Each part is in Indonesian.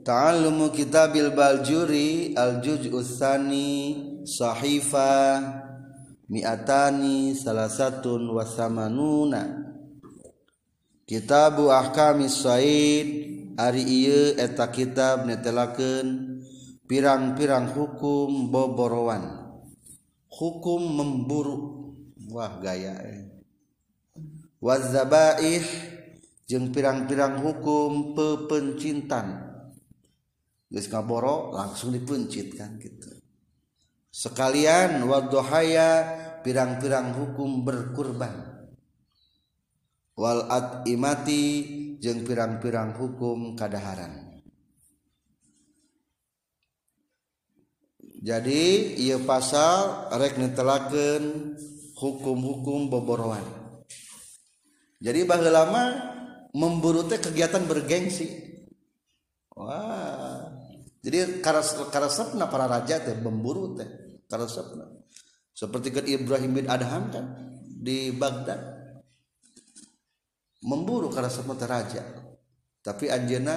Ta'allumu kitabil Baljuri al-juz'us tsani sahifa mi'atani salasatun wa samanuna. Kitabu ahkamis said ari ieu eta kitab netelakeun pirang-pirang hukum boborowan, hukum memburu. Wah gaya wazabaih jeung pirang-pirang hukum pepencintan. Geus ngaboro langsung dipencit kan gitu. Sekalian wadduhaya pirang-pirang hukum berkurban. Wal atimati jeung pirang-pirang hukum kadaharan. Jadi ieu pasal rek netelakeun hukum-hukum boborowan. Jadi baheula mah memburu teh kegiatan bergengsi. Wah. Jadi karesepna para raja teh memburu teh karesepna. Seperti ke Ibrahim bin Adham kan di Baghdad. Memburu karesepna teh raja. Tapi anjeunna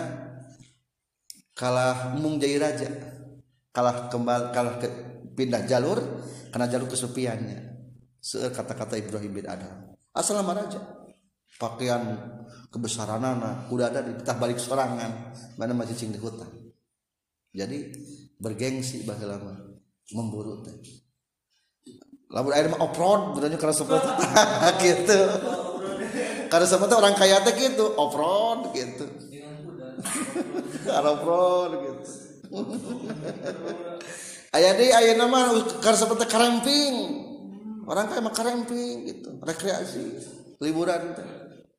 kalah mung jadi raja. Kalah pindah jalur karena jalur kesepiannya. Seueur kata-kata Ibrahim bin Adham. Asal nama raja. Pakaian kebesaranana udah ada ditah balik sorangan mana masih cing di hutan. Jadi bergengsi baheula mah memburu teh. Lamun air mah off-road berarti karena seperti gitu. Karena seperti orang kaya teh gitu, off-road gitu. Off-road gitu. Aya deui ayeuna mah karena seperti karemping. Orang kaya mah karemping gitu, rekreasi, liburan teh.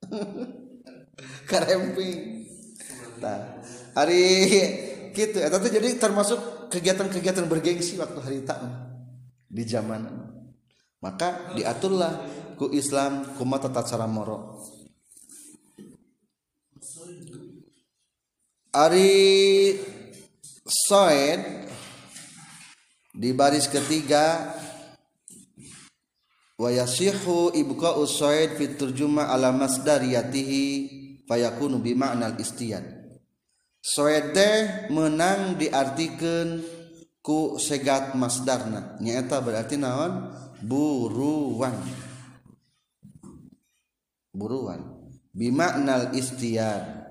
Karemping. Tah, hari gitu eta teh jadi termasuk kegiatan-kegiatan bergengsi waktu harita di zaman. Maka diaturlah ku Islam kumaha tata cara moro. Ari Soed di baris ketiga wa yasihu ibqa'u Soed fi turjuma ala masdariyatihi fayakunu bi ma'nal istiyad. Soed teh menang diartikeun ku segat masdarna nyaeta berarti naon buruan bi ma'nal istiyad.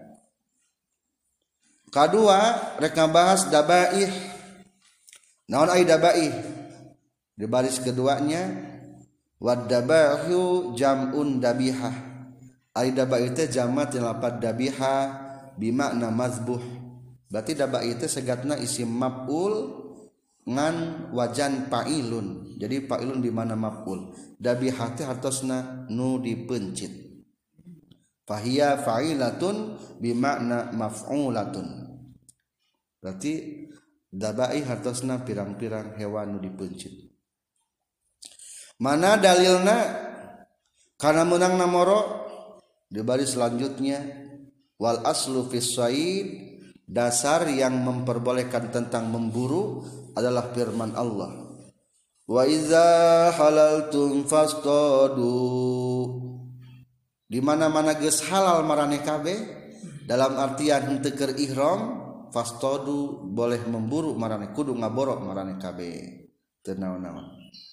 Kadua rek ngabahas dabaih. Naon ai dabaih? Di baris keduanya wad dabahu jam'un dabihah. Ai dabaih teh jamat lafaz dabihah bi makna mazbuh. Berarti dabaih teh segatna isim maf'ul ngan wajan fa'ilun. Jadi fa'ilun di mana maf'ul. Dabihah teh hartosna nu dipencit. Fahiya fa'ilatun bi makna maf'ulatun. Berarti dabai hartosna pirang-pirang hewan nu dipencit. Mana dalilna kana meunang namoro di baris selanjutnya wal aslu fis said dasar yang memperbolehkan tentang memburu adalah firman Allah. Wa iza halaltum fastadu. Di mana-mana geus halal maraneh kabeh dalam artian henteu keur ihram fastadu boleh memburu maraneh kudu ngaboro maraneh kabeh teu naon-naon.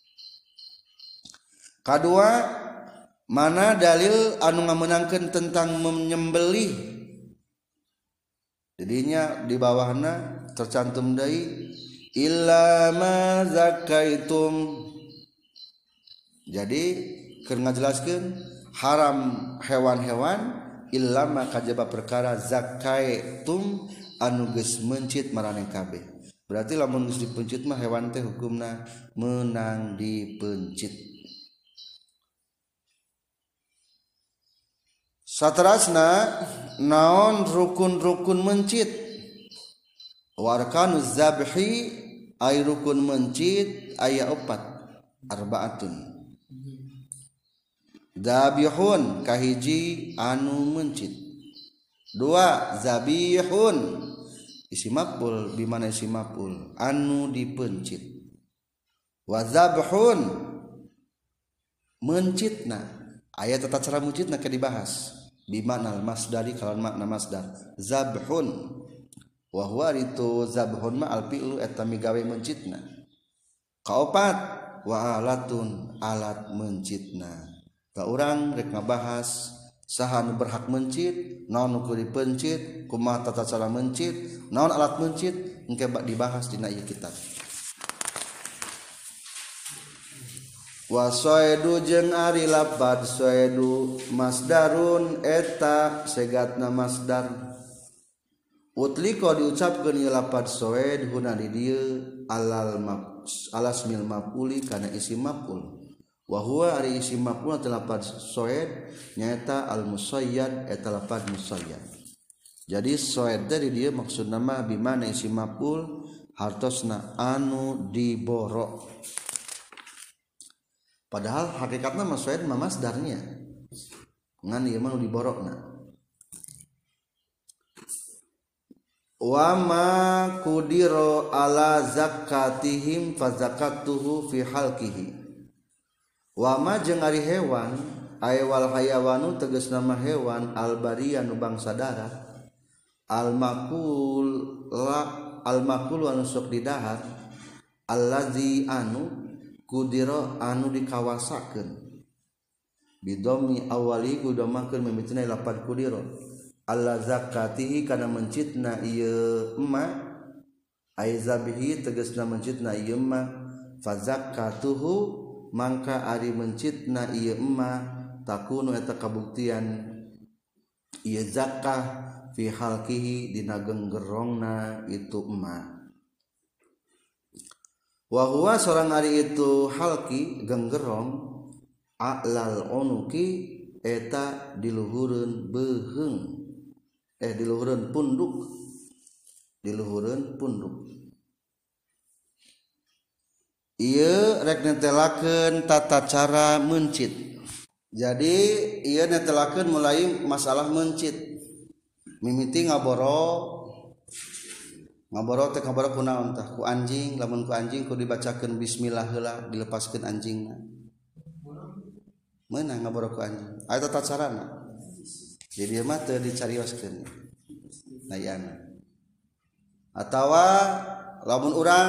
Kadua mana dalil anu ngameunangkeun tentang menyembelih. Jadinya di bawahna tercantum deui illa ma zakaitum. Jadi keur ngajelaskeun haram hewan-hewan illa ma kajaba perkara zakaitum anu geus mencit maraneh kabeh. Berarti lamun geus dipencit mah hewan teh hukumna meunang dipencit. Saterasna naon rukun-rukun mencit? Warkanuz zabhi ay rukun mencit aya 4 arbaatun. Zabihun kahiji anu mencit. 2 zabihun isim maf'ul bi mana isim maf'ul anu dipencit. Wa zabhun mencitna aya tata cara mencitna ke dibahas bi makna masdari kalawan makna masdar zabhun wa huwa itu zabhun ma al fi'lu eta migawe mencitna. Kaopat wa alatun alat mencitna. Ta urang rek ngabahas saha nu berhak mencit, naon nu kudu dipencit, kumaha tata cara mencit, naon alat mencit, engke dibahas dina ieu kitab. Wa soedu jeung ari lapad soedu masdarun eta segatna masdar. Utliko diucapkeun ieu lapad soed huna di dieu alasmil maf'uli kana isim maf'ul. Wa huwa ari isim maf'ul teh lapad soed nyaeta al musayyad eta lapad musayyad. Jadi soed teh di dieu maksudna mah bimana isim maf'ul hartosna anu diboro. Padahal hakikatna mah soed mah masdarnya. Ngan ieu mah nu diborona. Wa ma qudira ala zakatihim fa zakatuhu fi halqihi. Wa ma jeung ari hewan aya wal hayawanu tegasna mah hewan al bariya nu bangsa darat al maqul anu sok didahar allazi anu kudiro anu dikawasakeun bidomi awali kudomakeun mimitina lapad kudiro alla zakatihi kana mencitna ieu emma ai zabihi tegasna mencitna ieu emma fa zakatuhu mangka ari mencitna ieu emma takunu eta kabuktian ieu zakah fi halqihi dina genggerongna itu emma. Wa huwa sareng ari itu halki genggerong a'lal unuki eta diluhureun beuheung diluhureun punduk ieu rek netelakeun tata cara mencit. Jadi ieu netelakeun mulai masalah mencit mimiti ngaboro teh ngaboro kunaon tah ku anjing, lamun ku anjing kudu dibacakeun bismillah heula dilepaskeun anjingna meunang ngaboro ku anjing aya tata carana. Jadi mah teu dicarioskeun nayana atawa lamun urang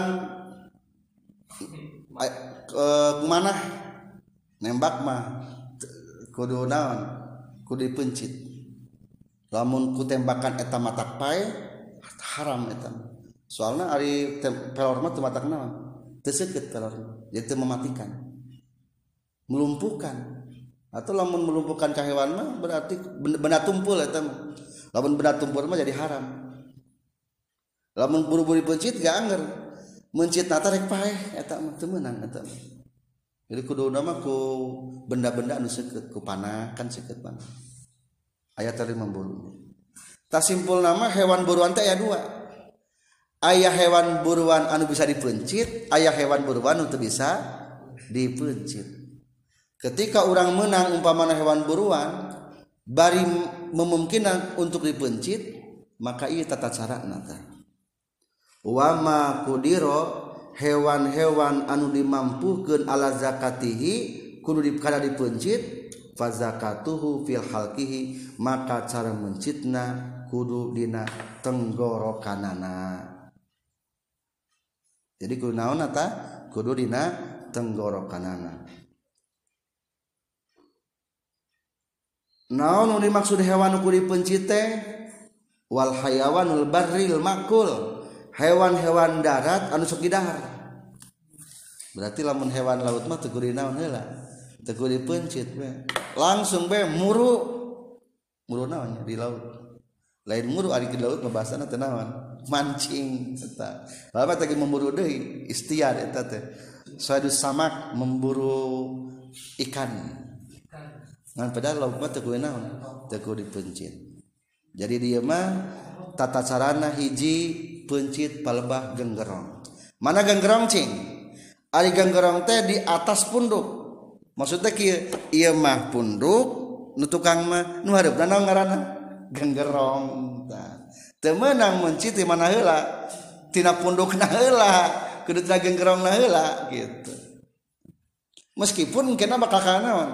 kumanah nembak mah kudu naon kudu dipencit. Lamun ku tembakan eta matak pae haram eta. Soalna ari pelor mah teu matak naon? Teu seukeut pelor. Jadi teu mematikan. Melumpuhkan. Atau lamun melumpuhkan ka hewan mah berarti benda tumpul eta mah. Lamun benda tumpul mah jadi haram. Lamun buru-buru pencit gak anger. Mencit na rek paeh eta mah teu meunang eta mah. Jadi kuduna mah ku benda-benda anu seukeut, ku panah kan seukeut mah. Aya tadi memburu. Ta simpul nama hewan buruan teh aya dua. Aya hewan buruan anu bisa dipencit, aya hewan buruan anu teu bisa dipencit. Ketika orang menang umpamana hewan buruan bari memungkinkan untuk dipencit, maka ieu tata carana teh. Wa ma qudiro hewan-hewan anu dimampukeun ala zakatihi kudu dikada dipencit fa zakatuhu fil halqihi maka cara mencitna kudu dina tenggorokanana. Jadi kudu naon eta? Kudu dina tenggorokanana. Naon nu dimaksud hewan nu kudu dipencit teh? Wal hayawanul barril makul. Hewan-hewan darat anu sok didahar. Berarti lamun hewan laut mah teu kudu naon heula? Teu kudu dipencit we. Langsung be muru naon di laut. Lain muru ari di laut ngebahasana teh naon? Mancing eta. Bapak teh memburu deui istiar eta teh. Suatu samak memburu ikan. Ngan padahal laut mah teu kudu naon? Teu kudu dipencit. Jadi dia mah tata carana hiji pencit palebah genggerong. Mana genggerong cing? Ari genggerong teh di atas punduk. Maksudnya kieu ieu mah punduk nu tukang mah nu hareupna naon ngaranna? Genggerong. Teu meunang mencit di mana heula? Tina pundukna heula, kudu tina genggerongna heula gitu. Meskipun kena bakal kana naon?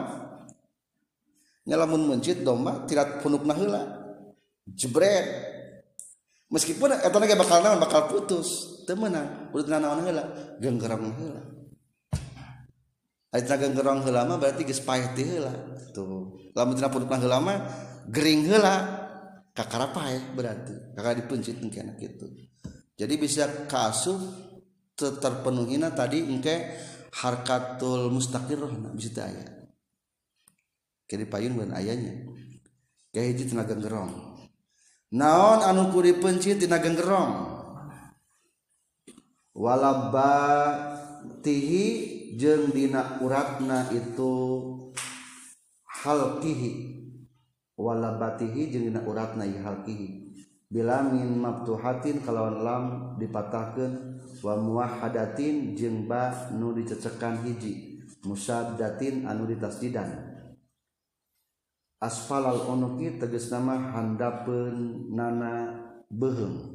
Nya lamun mencit domba tirat pundukna heula. Jebret. meskipun eta ge bakal naon bakal putus teu meunang kudu naon heula genggerong heula aya genggerong heula mah berarti geus paeh ti heula tuh lamun tina pudukna heula mah gering heula kakara paeh berarti kakara dipencit engke kitu jadi bisa kaasup terpenuhina tadi engke harkatul mustaqirrah bisa teu aya kiri payun mun ayanya kayak hiji tina genggerong naon anu kudu dipencit tina genggerong walabatihi jeung dina uratna itu halqihi walabatihi jeung dina uratna ieu halqihi bila min maftuhatin kalawan lam dipatahkeun wa muwahhadatin jeung ba nu dicecekan hiji musaddatin anu ditasdidan asfalal unuki tegasna mah handapeun nana beuheung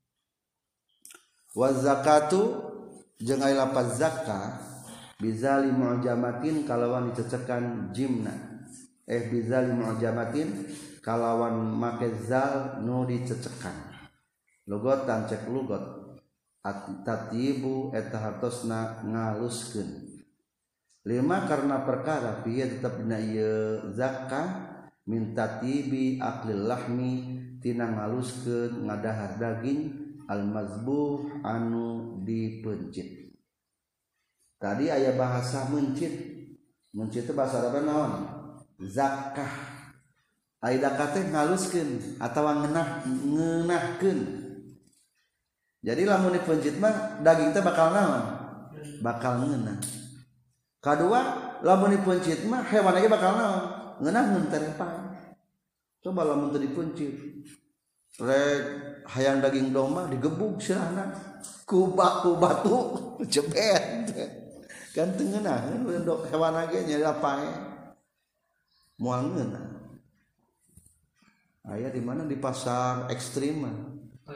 wa zakatu jeung aya lapaz zakah bizali mu'jamatin kalawan dicecekan jimna bizali mu'jamatin kalawan make zal nu dicecekan logotan cek lugot at-tatibu eta hartosna ngaluskeun lima karena perkara piye tetep dina ieu zakah min tatibi aqlil lahmi tina ngaluskeun ngadahar daging al-mazbuh anu dipencit. Tadi aya bahasa mencit. Mencit itu bahasa Arab naon? Zakah. Ai zakah teh ngaluskeun atawa ngeunahkeun. Jadi lamun dipencit mah daging teh bakal naon? Bakal ngeunah. Kadua lamun dipencit mah hewan ge bakal naon? Ngeunahkeun terepang. Coba lamun teu dipencit. Rek hayang daging domba digebuk sirahna ku batu jebet kan teu ngeunah hewan ge nya pae moal ngeunah aya di mana di pasar ekstrim mah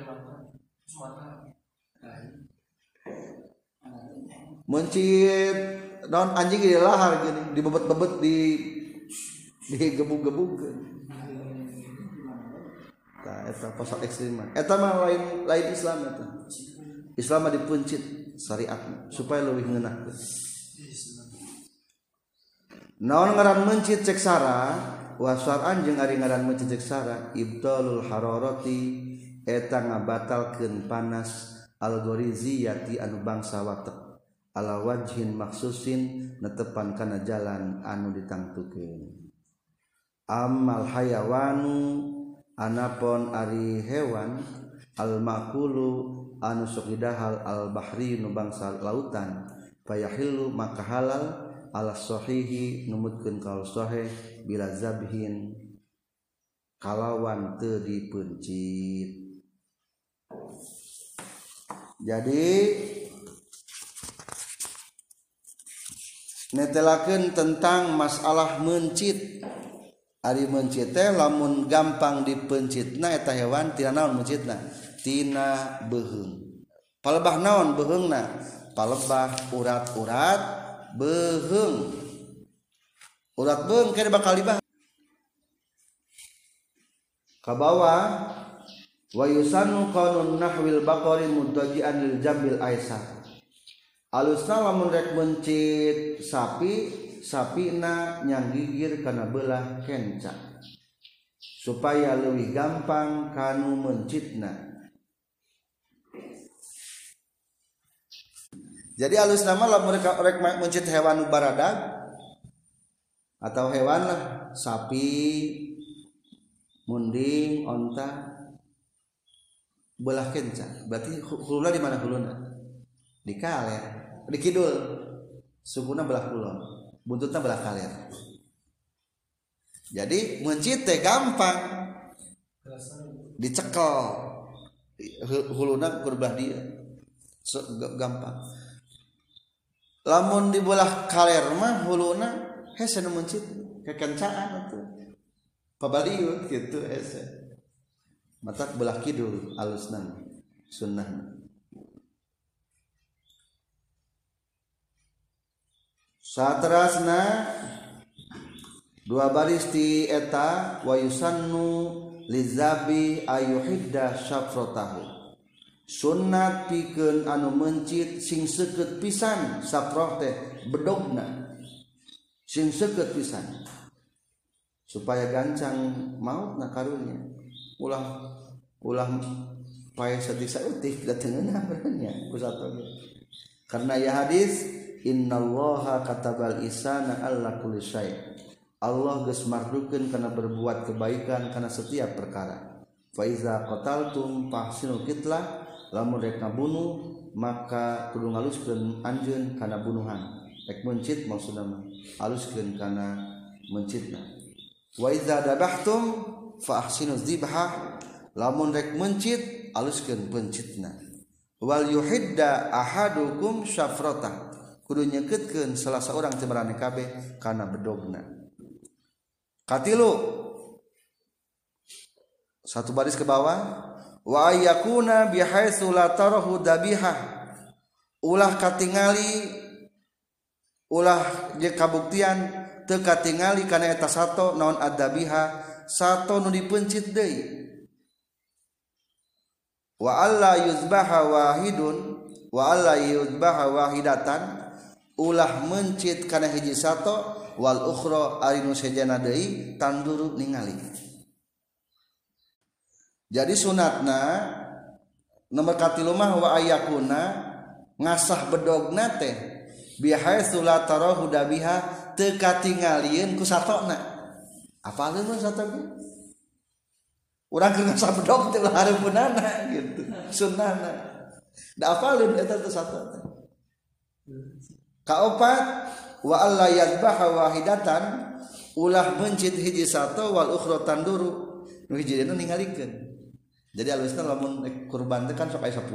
mencit daun anjing di lahar gini dibebet-bebet digebuk-gebuk eta pasal ekstrim eta mah lain Islam eta Islam mah dipencit syariat supaya leuwih ngeunahkeun naon ngaran mencit cek sara wa syar'an jeung ari ngaran mencit cek sara ibtalul hararati eta ngabatalkeun panas algoriziyati anu bangsa watek ala wajhin maksusin netepan kana jalan anu ditangtukeun amal hayawanu anapun ari hewan al makulu anu sok didahal al bahri nu bangsa lautan fayahillu maka halal ala sahihi numutkeun kaul sahih bila zabhin kalawan teu dipencit. Jadi netelakeun tentang masalah mencit. Ari mencit teh lamun gampang dipencitna eta hewan tina naon mencitna tina beuheung palebah naon beuheungna palebah urat-urat beuheung urat beuheung kene bakal dibah ka bawah wa yusanu qanun nahwil baqari mutajian lil jambil aisar alusna lamun rek mencit sapina nyanggigir kana belah kenca supaya leuwih gampang kanu mencitna. Jadi alusna mah lamun rek mencit hewan baradag atau hewan lah sapi, munding, onta belah kenca. Berarti huluna di mana huluna? Di kaler, di kidul. Sukuna belah kulon. Buntutnya belah kaler. Jadi mencit teh gampang dicekel huluna kurbelah dia gampang lamun di belah kaler mah huluna hese nu mencit kekencaan atuh pabaliut gitu hese matak belah kidul alusna sunnah. Saterasna dua baris ti eta wa yusannu lizabi ayuhidda syafrotahu sunat pikeun anu mencit sing seukeut pisan safroh teh bedogna sing seukeut pisan supaya gancang mautna karunya ulah pae satik sautik datengeuna benernya ku satoge karena ya hadis innallaha katabal ihsana alla kulli syai Allah geus mardukeun kana berbuat kebaikan kana setiap perkara fa iza qataltum fahsinul qitlah lamun rek ngabunuh maka kudu ngaluskeun anjeun kana bunuhan rek mencit maksudna mah haluskeun kana mencitna wa iza dabahtum fa ahsinuz dzibha lamun rek mencit haluskeun pencitna wal yuhidda ahadukum syafratah kudu nyekeutkeun salah saurang teh marane kabeh kana bedogna katilu satu baris ke bawah wa ayyakuna bihaitsu la tarahu dabihah ulah katingali ulah je kabuktian teu katingali kana eta sato naon adabiha sato nu dipencit deui wa alla yuzbaha wahidun wa alla yuzbaha wahidatan ulah mencit kana hiji sato wal ukhra ari nu sejana deui tanduru ningali jadi sunatna nomor katilu mah wa ayakuna ngasah bedogna teh bihaitsu la tarahu dabiha teu katingalieun ku satona apaleun mah satoge urang keur ngasah bedog teh hareupeunana gitu sunnahna da apaleun eta teh satona kaopat wa alla yadbaha wahidatan ulah mencit hiji sato wal ukhra tanduru nu hijina ningalikeun jadi alusna lamun kurban teh kan sok aya 10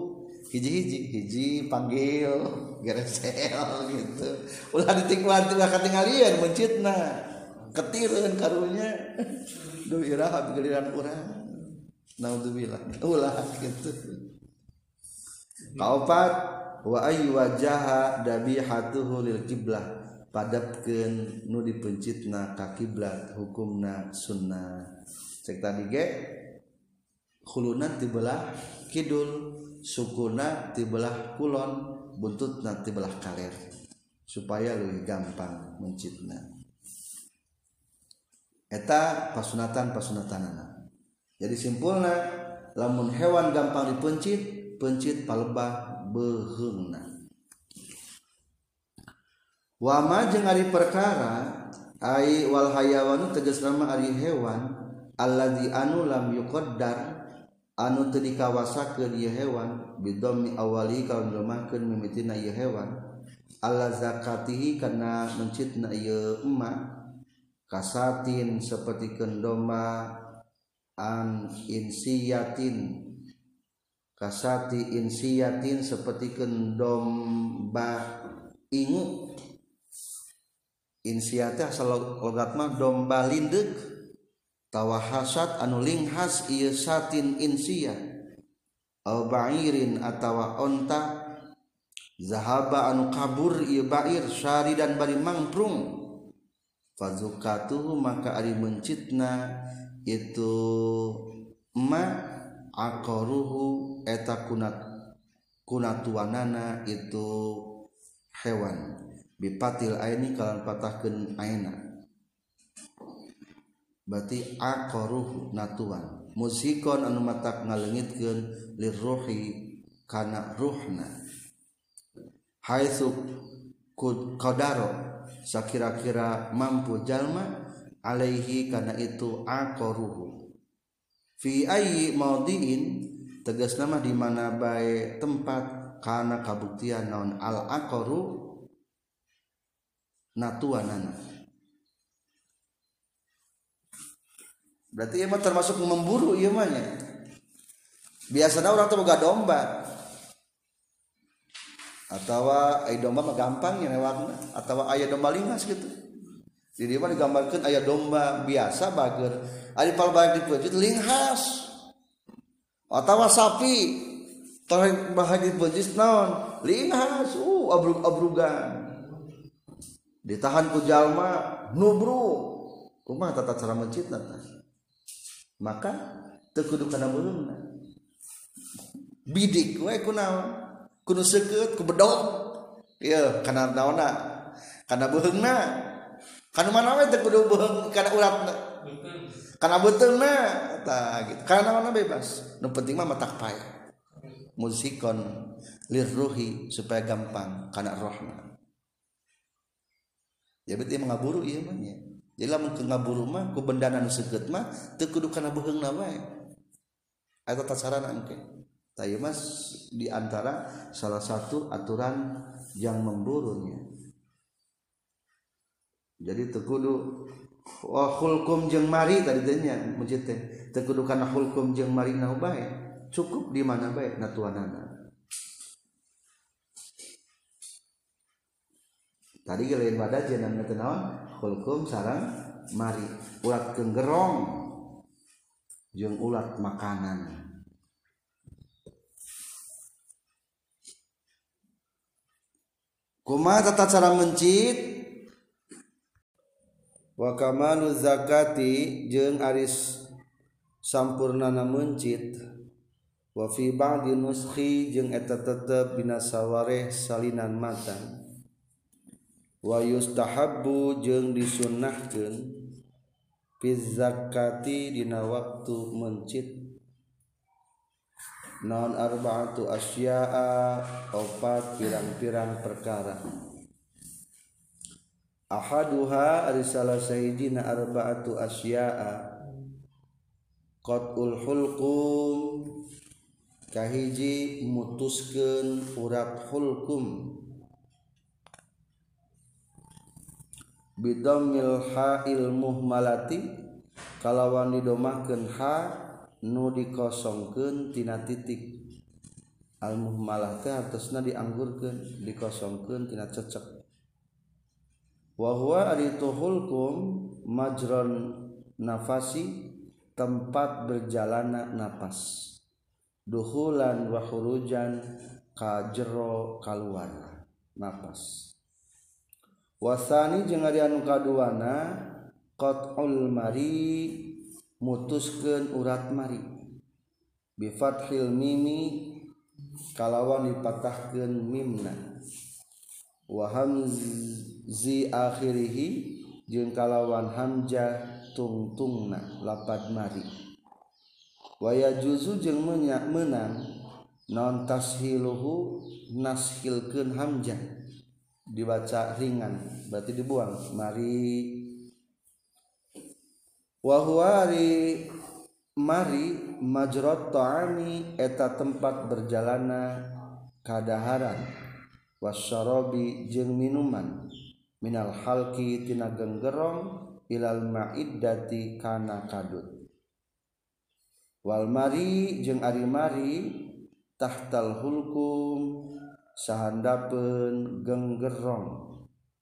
hiji panggil geresel gitu ulah ditingkuan ulah katingalieun mencitna ketireun karunya duh iraha giliran urang naudzubillah ulah gitu kaopat wa ayyu wajaha dabihatuhu lil qiblah padapkeun nu dipencitna ka kiblat hukumna sunnah cek tadi ge khuluna ti belah kidul sukuna ti belah kulon buntutna ti belah kaler supaya leuwih gampang mencitna eta pasunatan-pasunatanana jadi simpulna lamun hewan gampang dipencit pencit palebah beheungna wa ma jeung ari perkara ai wal hayawanu tegasna mah ari hewan alladzi anu lam yuqaddar anu teu dikawasakeun ieu hewan bidhammi awali kaun lemahkeun mimitina ieu hewan alla zakatihi kana mencitna ieu emak kasatin sapertikeun domba an insiyatin kasati insiyatin sapertikeun domba ingu insiyateh asal logat mah domba lindeuk tawahasat anu linghas ieu satin insiyah au ba'irin atawa onta zahaba anu kabur ieu ba'ir syaridan bari mangprung fazukatuhu maka ari mencitna itu ma aqaruhu eta kunatuanana itu hewan bipatil aini kalan patahkeun aina berarti aqaruhu natuan musikon anu matak ngaleungitkeun lirruhi kana ruhna haitsu qadaro sakira-kira mampu jalma alaihi kana itu aqaruhu fi ayyi maudhi'in tegasna mah di mana bae tempat kana kabuktian naon al aqaru natuanana berarti ieu mah termasuk memburu ieu mah nya biasana urang teh boga domba atawa aya domba mah gampang nya lewatna atawa aya domba lingas gitu jadi mah digambarkeun aya domba biasa bager ari palbalik dipeujit linghas atawa sapi tarik bahagia dipeujit naon linghas abrug-abrugan ditahan ku jalma nubruk kumaha tata cara mencitna tah maka teu kudu kana beungna bidik we kunaon kudu seukeut ku bedog ieu kana naonna kana beungna kana mana we teu kudu beung kana uratna kana beuteungna tah gitu kana naonna bebas nu penting mah matak paya musikon lirruhi supaya gampang kana rohna ya berarti mangaburu ieu mah nya jadi lamun ke ngaburu mah ku bendana nu seukeut mah teu kudu kana beheungna wae eta tasarana engke tah ieu mah di antara salah satu aturan yang memburunya jadi teu kudu hulkum jeung mari tadi teh nya masjid teh teu kudu kana hulkum jeung mari na bae cukup di mana bae natuanana tadi lain wadah jenang teh naon hulkum sareng mari ulat kenggerong jeung ulat makanan kumaha tata cara mencit wa kamalu zakati jeung aris sampurnana mencit wa fi ba'di nuskhi jeung eta tetep dina sawareh salinan matan wa yustahabbu jeung disunnahkeun fi zakati dina waktu mencit naon arba'atu asya'a opat pirang-pirang perkara ahaduha ari salah sahijina arba'atu asya'a qat'ul hulqum kahiji mutuskeun urat hulqum bidammil ha'il muhmalati kalawan didomahkeun ha nu dikosongkeun tina titik al muhmalah teh hartosna dianggurkeun dikosongkeun tina cecek wa huwa ari tuhulkum majron nafasi tempat berjalanna napas duhulan wa khurujan ka jero kaluar napas wasani jeung ari anu kaduana qat'ul mari mutuskeun urat mari bi fathil mimi kalawan dipatahkeun mimna wa hamzi akhirih jeung kalawan hamzah tungtungna lapad mari wa yajuzu jeung meunang non tashiluhu nashilkeun hamzah dibaca ringan berarti dibuang mari wa huwa mari majrat ta'ami eta tempat berjalana kadaharan wasyarabi jeung minuman minal halqi tina genggerong ilal ma'iddati kana kadut wal mari jeung ari mari tahtal hulkum sahandapeun genggerong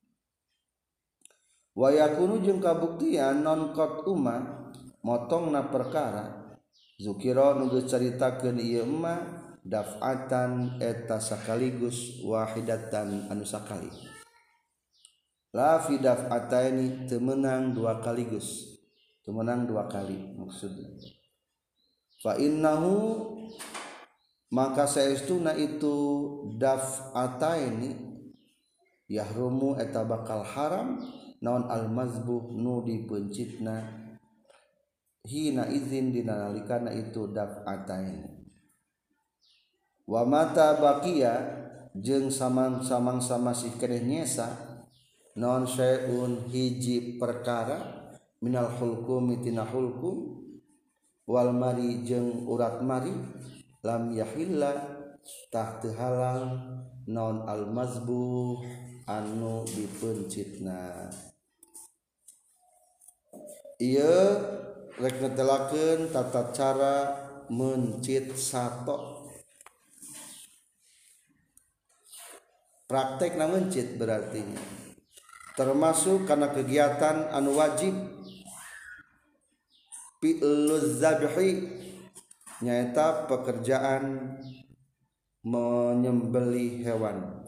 wa yakunu jeung kabuktian non qat umma motongna perkara zukira nu geus caritakeun ieu mah daf'atan eta sakaligus wahidatan anu sakali la fi daf'ataini teu meunang dua kaligus teu meunang dua kali maksudna fa innahu maka saestuna itu daf'ataini yahrumu eta bakal haram naon al mazbuh nu dipencitna hina izin dina nalikana itu daf'atain wa mata baqiya jeung samang-samang masih keneh nyesa naon syai'un hiji perkara minal hulqum tina hulqum wal mari jeung urat mari lam yahilla tah teu halal naon al mazbuh anu dipencitna ieu rek netelakeun tata cara mencit sato praktek na mencit berarti termasuk karena kegiatan anu wajib fi'luz zabhi nyaeta pekerjaan menyembelih hewan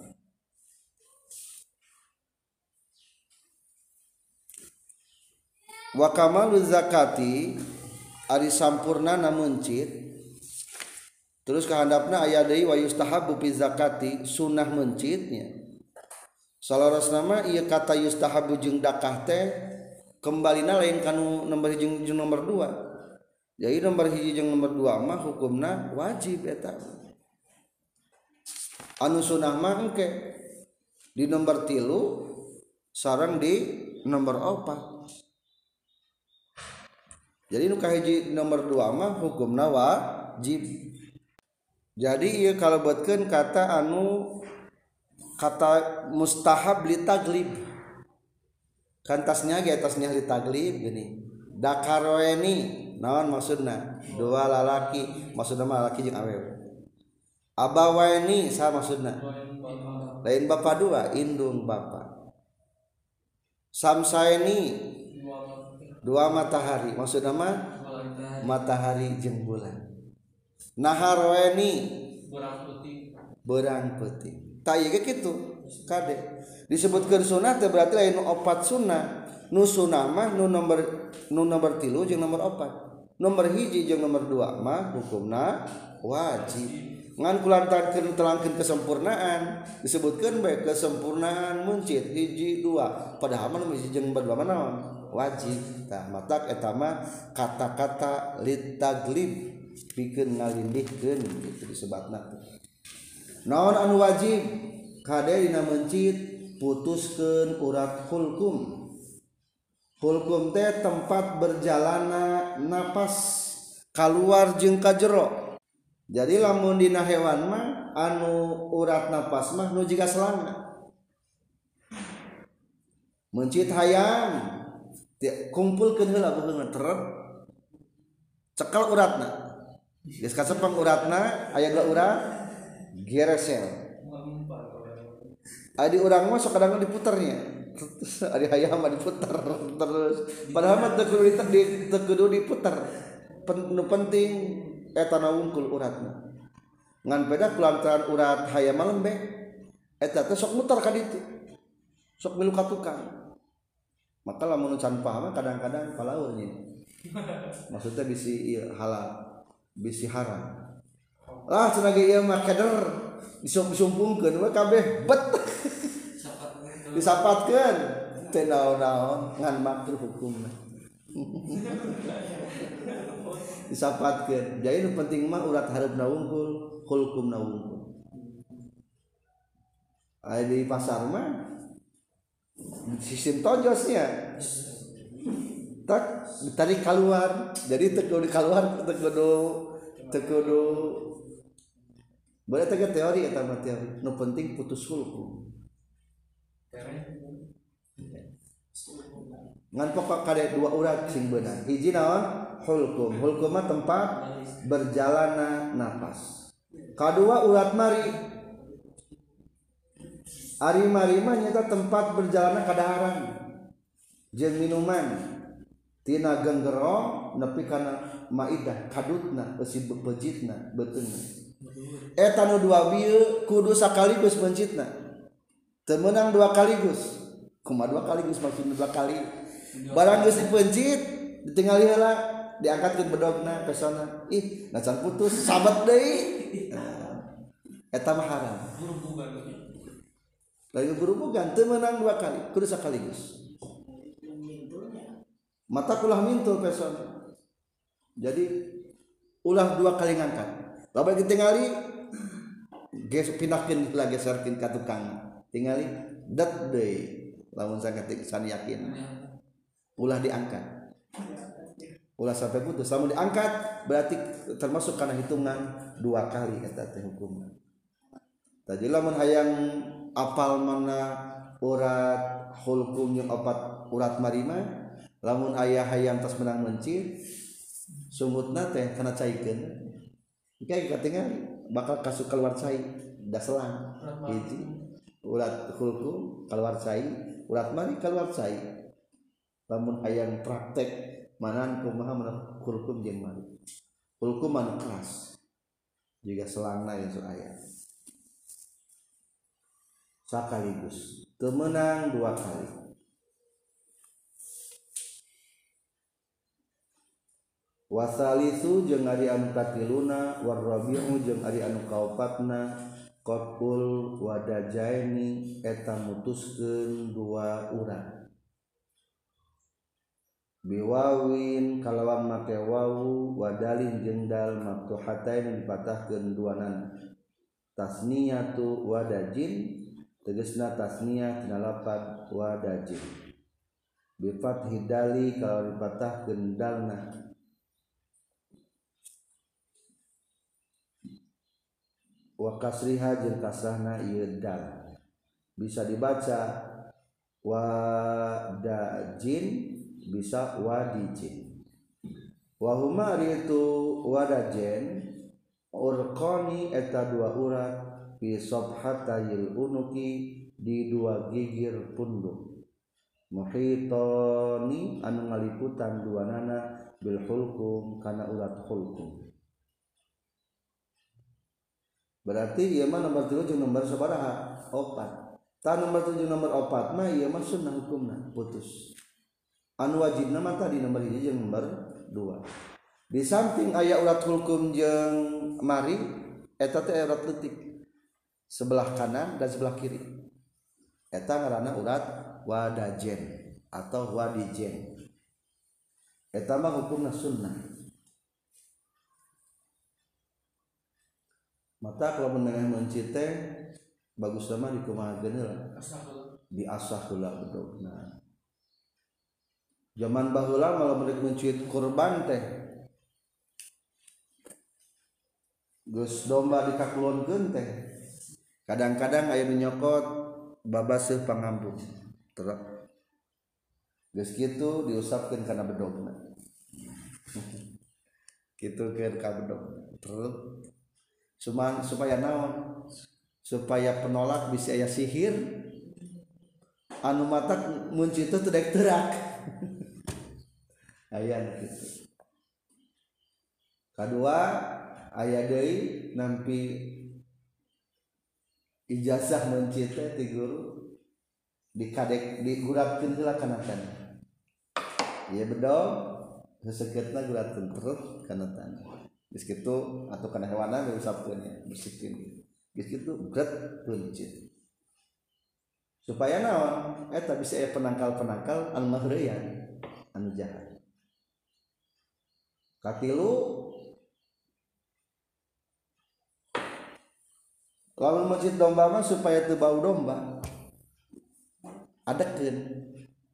wa kamalu zakati ari sampurnana mencit terus kahandapna aya deui wa yustahabu fi zakati sunah mencitnya salarosna mah ieu kata yustahabu jeung dakah teh kembalina lain kanu nomor hiji jeung nomor 2 jadi nomor hiji jeung nomor 2 mah hukumna wajib eta anu sunah mah engke di nomor 3 sareng di nomor 4 jadi nu kahiji nomor 2 mah hukumna wajib jadi ieu kalebetkeun kata anu kata mustahab li taglib kan tasnya ge tasnya li taglib gini dakarweni naon maksudna dua lalaki maksudna mah lalaki jeung awewe abawaini sa maksudna lain bapa dua indung bapa samsaini dua matahari maksudna mah matahari jeung bulan naharweni berang putih tak ieu kitu kade disebutkeun sunah teh berarti lain nu 4 sunah nu sunah mah nu nomor 3 jeung nomor 4 nomor hiji jeung nomor 2 mah hukumna wajib ngan kulantaran telangkeun kesempurnaan disebutkeun bae kesempurnaan muncit hiji 2 padahal mah hiji jeung 2 mah naon wajib tah matak eta mah kata-kata litaglib pikeun ngalindihkeun kitu disebutna naon anu wajib kade dina mencit putuskeun urat hulkum teh tempat berjalana napas keluar jeung ka jero jadi lamun dina hewan mah anu urat napas mah nu jiga selana mencit hayam kumpulkeun heula beungeun teret cekel uratna geus kasepeng uratna aya 2 urat geresel adi urang mah sok kadang diputernya adi hayam mah diputer terus padahal mah teu kudu diputer nu penting eta na wungkul uratna ngan beda kulantaran urat hayam mah lembek eta teh sok muter ka ditu sok milu ka tukang maka lamun can paham kadang-kadang palaurnya maksudnya bisi halal bisi haram lah cenah ge ieu mah keder disumpungkeun we kabeh bet disapatkeun teu naon-naon ngan makruh hukumna disapatkeun jadi nu penting mah urat hareupna wungkul hulkumna wungkul aya di pasar mah sistem tojosnya tak ditarik keluar jadi teu kudu keluar teu kudu boleh teh teori eta mah teori nu penting putus hulkum ngan pokok kade 2 urat sing beunang hiji naon hulkum mah tempat berjalana napas kadua urat mari ari mari mah nyata tempat berjalana kadaharan jeung minuman tina genggero nepi kana maidah kadutna eusi bejitna beuteungna eta nu 2 bieu kudu sakaligus mencitna teu meunang 2 kaligus kumaha 2 kaligus maksudna 2 kali barang geus dipencit ditinggali heula diangkatkeun bedogna ka sana ih nacan putus sabat deui eta mah haram lain guru-gurugan teu meunang 2 kali kudu sakaligus mata ulah mintul pesona jadi ulah 2 kali ngangkat lamun ditingali geus pindahkeun lagi geserkeun ka tukang tingali dat deui lamun sangat yakin ulah diangkat ulah sampai putus lamun diangkat berarti termasuk kana hitungan 2 kali eta teh hukumna tadi lamun hayang apal mana urat hulkum jeung 4 urat marima lamun aya hayang tos menang mencit sumutna teh kana caikeun kayak katingali bakal kasuk keluar cai da selang hiji urat hulkum keluar cai urat mari keluar cai lamun hayang praktek manan kumaha hulkum jeung mari hulkum anu keras juga selangna ya aya sakaligus teu meunang 2 kali wasalisu jeung ari anu katiluna warabi'u jeung ari anu kaopatna qul wadajaini eta mutuskeun dua urang biwawin kalawan make wawu wadalin jeung dal maftuhatain dipatahkeun duanan tasniyatu wadajin tegasna tasniyah tina lafaz wadajin bi fathi dali kalau dipatahkeun dalna wa kasriha jeung kasrahna ieu dal bisa dibaca wadajin bisa wadijin wa huma itu wadajen urqani eta dua urat fi sabhatayil unuki di dua gigir punduk muhitani anu ngaliputan duanana bil hulqum kana urat hulqum berarti ieu mah nomor 3 jeung nomor sabaraha 4 tah nomor 7 nomor 4 mah ieu mah sunnah hukumna putus anu wajibna mah tadi nomor 1 jeung nomor 2 di samping aya urat hulqum jeung mari eta teh urat leutik sebelah kanan dan sebelah kiri eta ngaranna urat wadajen atau wadijen eta mah hukumna sunnah mata kalau menengah mencit teh bagus mah dikumahakeun heula diasah heula bedogna zaman baheula malah mereka mencit kurban teh geus domba dikakulonkeun teh kadang-kadang aya nu nyokot babaseuh pangambung terus geus kitu diusapkeun kana bedogna kitu keur ka bedog terus supaya naon supaya penolak bisa aya sihir anu matak muncit teh teu terak aya kitu kadua aya deui nampi ijazah mencit teh ti guru dikadek digurapkeun heula kana tanah ieu bedog seseukeutna guratkeun terus kana tanah geus kitu atuh kana hewanna diusapkeun ya bersihkeun geus kitu gret mencit supaya naon eta bisa aya penangkal-penangkal anu mahreuyan anu jahat katilu lamun mencit domba mah supaya teu bau domba adekeun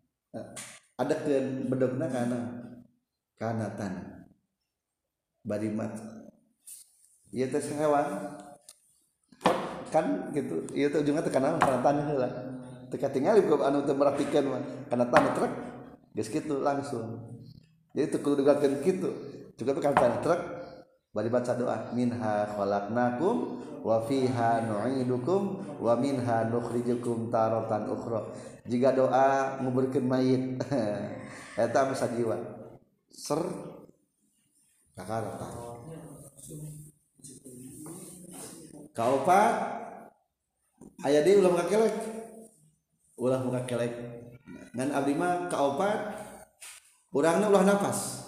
bedogna kana tanah bari mat ieu teh hewan kan gitu ieu teh ujungna teh kana tanah heula teu katingali ku anu teu merhatikeun mah kana tanah trek geus kitu langsung jadi teu kudu digakeun kitu cukup kana tanah trek bari baca doa minha khalaqnakum wa fiha nu'idukum wa minha nukhrijukum taratan ukhra jika doa nguburkeun mayit eta mah sajiwa ser kakarta kaopat aya deui ulah muka kelek ngan abdi mah kaopat urangna ulah napas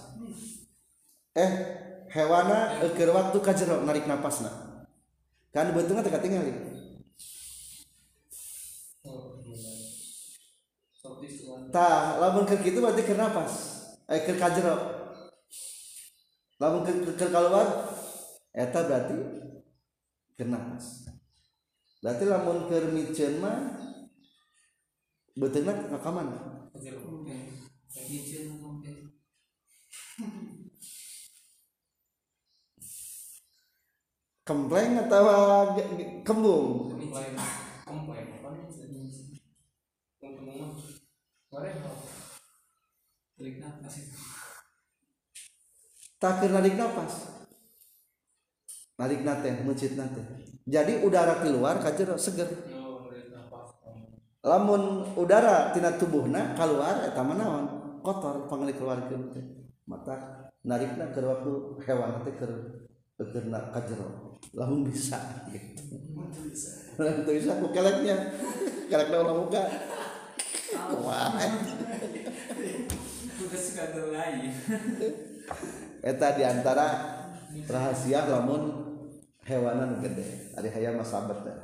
hewana keur waktu ka jero narik napasna kan beuteunya teh katingali tah lamun keur kitu berarti keur napas keur ka jero lamun keur kaluar eta berarti keur napas berarti lamun keur miceun mah beuteunya ka mana kempleng atau kembung tak narik nafas narik nate mencit nate jadi udara keluar ka jero seger lamun udara tina tubuhna keluar eta mah naon kotor pangali keluarkeun teh mata narikna keur waktu hewan teh keur ka jero lamun bisa gitu lamun bisa ku keleknya kelekna ulah muka kumaha udah suka lain eta diantara rahasia lamun hewanan gede ari hayang mah sabat teh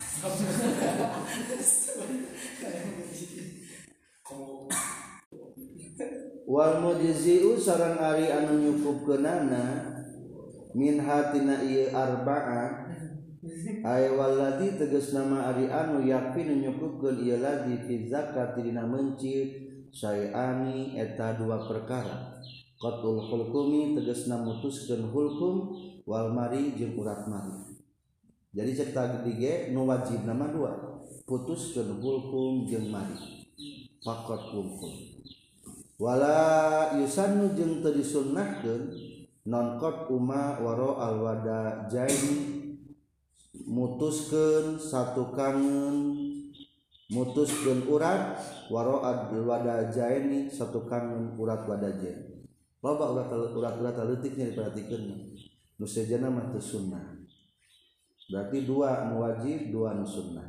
wal mujzi'u sareng ari anu nyukupkeunana min hatina ieu arba'ah ay walladzi tegasna ma ari anu yakfi nyukupkeun ieu ladzi fi zakat dina mencit sayani eta dua perkara qatul hulqumi tegasna mutuskeun hulkum wal mari jeung urat mari jadi cek tadi ge nu wajib nama dua putuskeun hulkum jeung mari faqat hulkum wala yusannu jeung teu disunnahkeun non qad uma waro al wada jaini mutuskeun satu kangen mutuskeun urat waro al wada jaini satu kangen urat wada jain loba urat leutiknya diperhatikeun nu sejana mah teu sunnah berarti dua nu wajib dua nu sunnah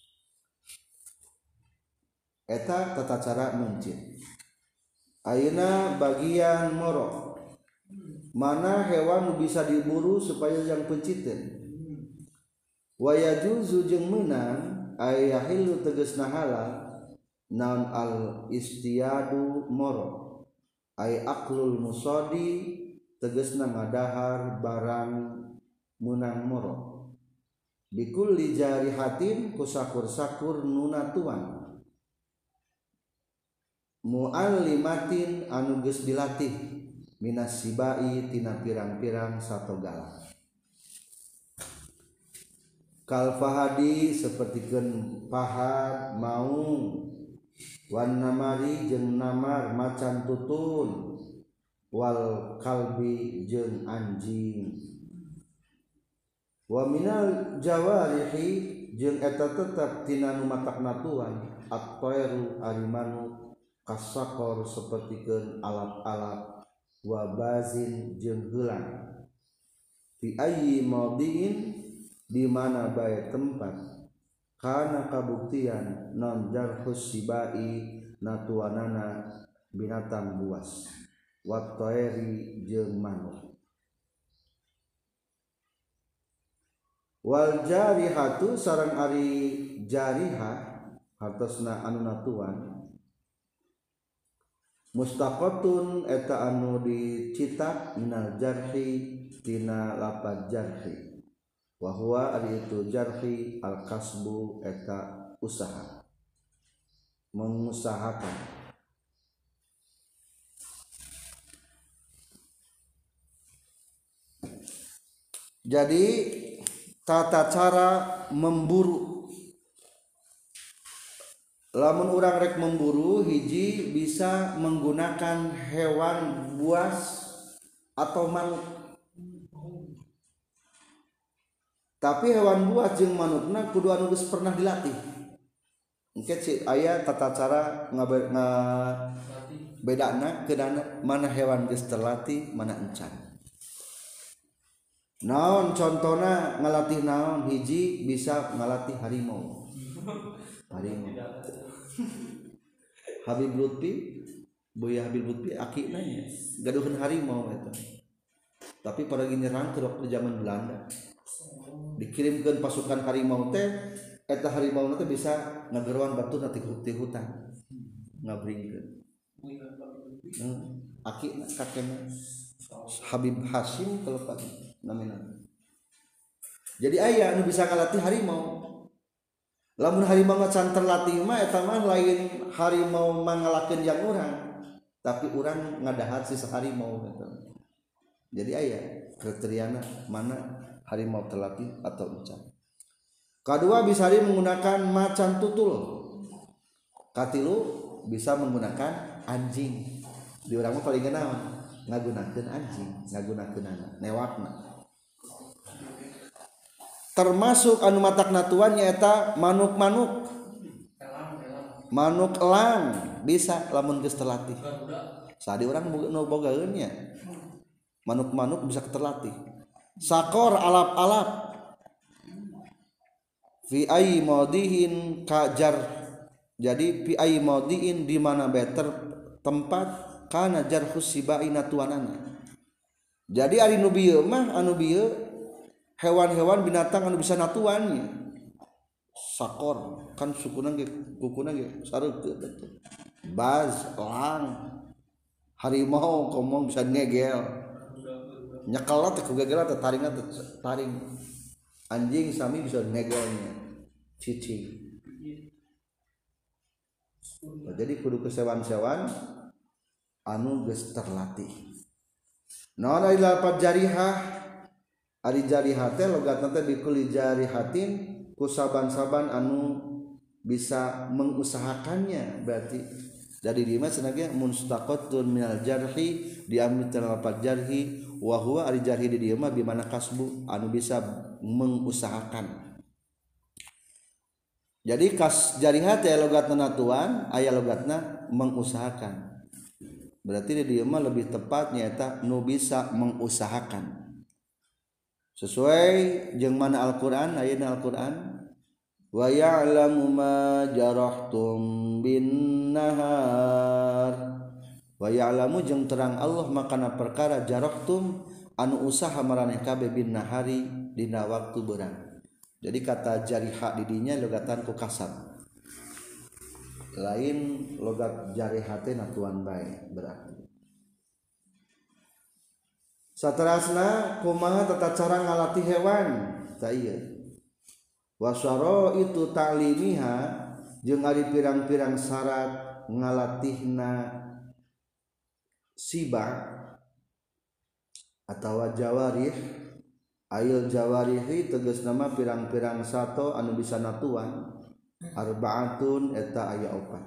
eta tata cara mencit ayeuna bagian moro mana hewan bisa diburu supaya yang penciteun wa yajuzu jeung meunang ayahilu tegasna halal naon al istiyadu moro ay aklul musadi tegasna ngadahar barang meunang moro bikulli jarihatin kusakur-sakur nunatuan muallimatin anu geus dilatih minas sibai tina pirang-pirang satogala kal fahadi sapertikeun pahad maung wan namari jeung namar macan tutun wal kalbi jeung anjing wa minal jawarihi jeung eta tetep tina nu matakna tuan at-tayru arimanu kasakor sapertikeun alat-alat wa bazin jeung heulang fi ayyi mawdiin di mana bae tempat kana kabuktian non jarhus sibai natuanana binatang buas wa tayri jeung manuk wal jarihatu sareng ari jarihah hartosna anu natuan mustaqatun eta anu dicitak minal jarhi tina lapad jarhi wa huwa ari itu jarhi al kasbu eta usaha mengusahakan jadi tata cara memburu lamun urang rek memburu hiji bisa menggunakan hewan buas atau manuk tapi hewan buas jeung manukna kudu anu geus pernah dilatih engke ci aya tata cara bedana keudana mana hewan geus terlatih mana encan naon contona ngalatih naon hiji bisa ngalatih harimau Habib Lutfi Buya Habib Lutfi akina nya gaduhan harimau eta tapi pada nyerang ke waktu zaman Belanda dikirimkeun pasukan harimau teh eta harimau teh bisa ngageruan batu nanti di hutan ngabringkeun akina kakena Habib Hashim kalau Pak namina jadi aya anu bisa ngalatih harimau lamun harimau can terlatih mah eta mah lain harimau mangalakeun yang urang tapi urang ngadahar si harimau gitu. Jadi aya kriteriana mana harimau terlatih atau encan. Kedua bisa menggunakan macan tutul. Katilu bisa menggunakan anjing. Di urang mah paling naon ngagunakeun anjing, ngagunakeunana newakna. Termasuk anu matakna tuan nyaeta manuk-manuk manuk elang bisa lamun geus terlatih sadi urang nu bogaeun nya manuk-manuk bisa terlatih sakor alap-alap fi ayyi maudihin kajar jadi fi ayyi maudiin di mana better tempat kana jarhus sibai natuanana Jadi ari nu bieu mah anu bieu hewan-hewan binatang anu bisa natuannya sakor kan sukuna ge kukuna ge sareukeut atuh baz elang harimau komong bisa ngegel nyekel teh ku gegel teh taringna teh taring anjing sami bisa ngegelnya cicing. Jadi kudu kesewan-sewan anu geus terlatih. Naon ari lapat jarihah ari jarihah teh logatna teh bikuli jarihatin ku saban-saban anu bisa mengusahakannya berarti dari dieu mah cenah ge mustaqatun minal jarhi diambil tina lapat jarhi wa huwa ari jarhi di dieu mah bi mana kasbu anu bisa mengusahakan. Jadi kas jarihah teh logatna natuan aya logatna mengusahakan. Berarti di dieu mah lebih tepatnya eta nu bisa mengusahakan. Sesuai jeung mana Al-Qur'an ayeuna Al-Qur'an wa ya'lamu ma jarahtum bin nahar wa ya'lamu jeung terang Allah makana perkara jarahtum anu usaha maraneh kabeh bin nahari dina waktu beurang. Jadi kata jariha di dinya logatan ku kasab lain logat jariha teh natuan bae berarti. Saterasna kumaha tata cara ngalatih hewan tah ieu wasyara itu ta'limiha jeung ari pirang-pirang syarat ngalatihna siba atawa jawarih. Ail jawarihi tegas nama pirang-pirang sato anu bisa natuan arbaatun eta aya opat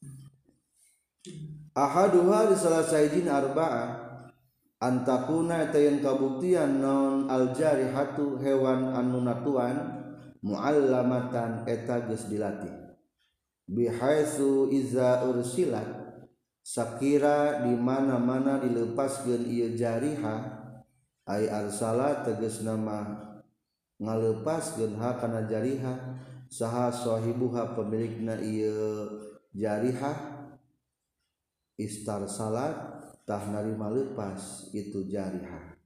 ahaduha di salah saijin arba'ah antakuna eta yang kabuktian non aljarihatu hewan anu natuan muallamatan eta geus dilatih bihaitsu iza ursilat sakira di mana-mana dilepaskeun ieu jarihah ay arsala tegas nama ngalepaskeun ha kana jarihah saha sahibuha pemilikna ieu jarihah istarsalat tah narima leupas itu jarihah.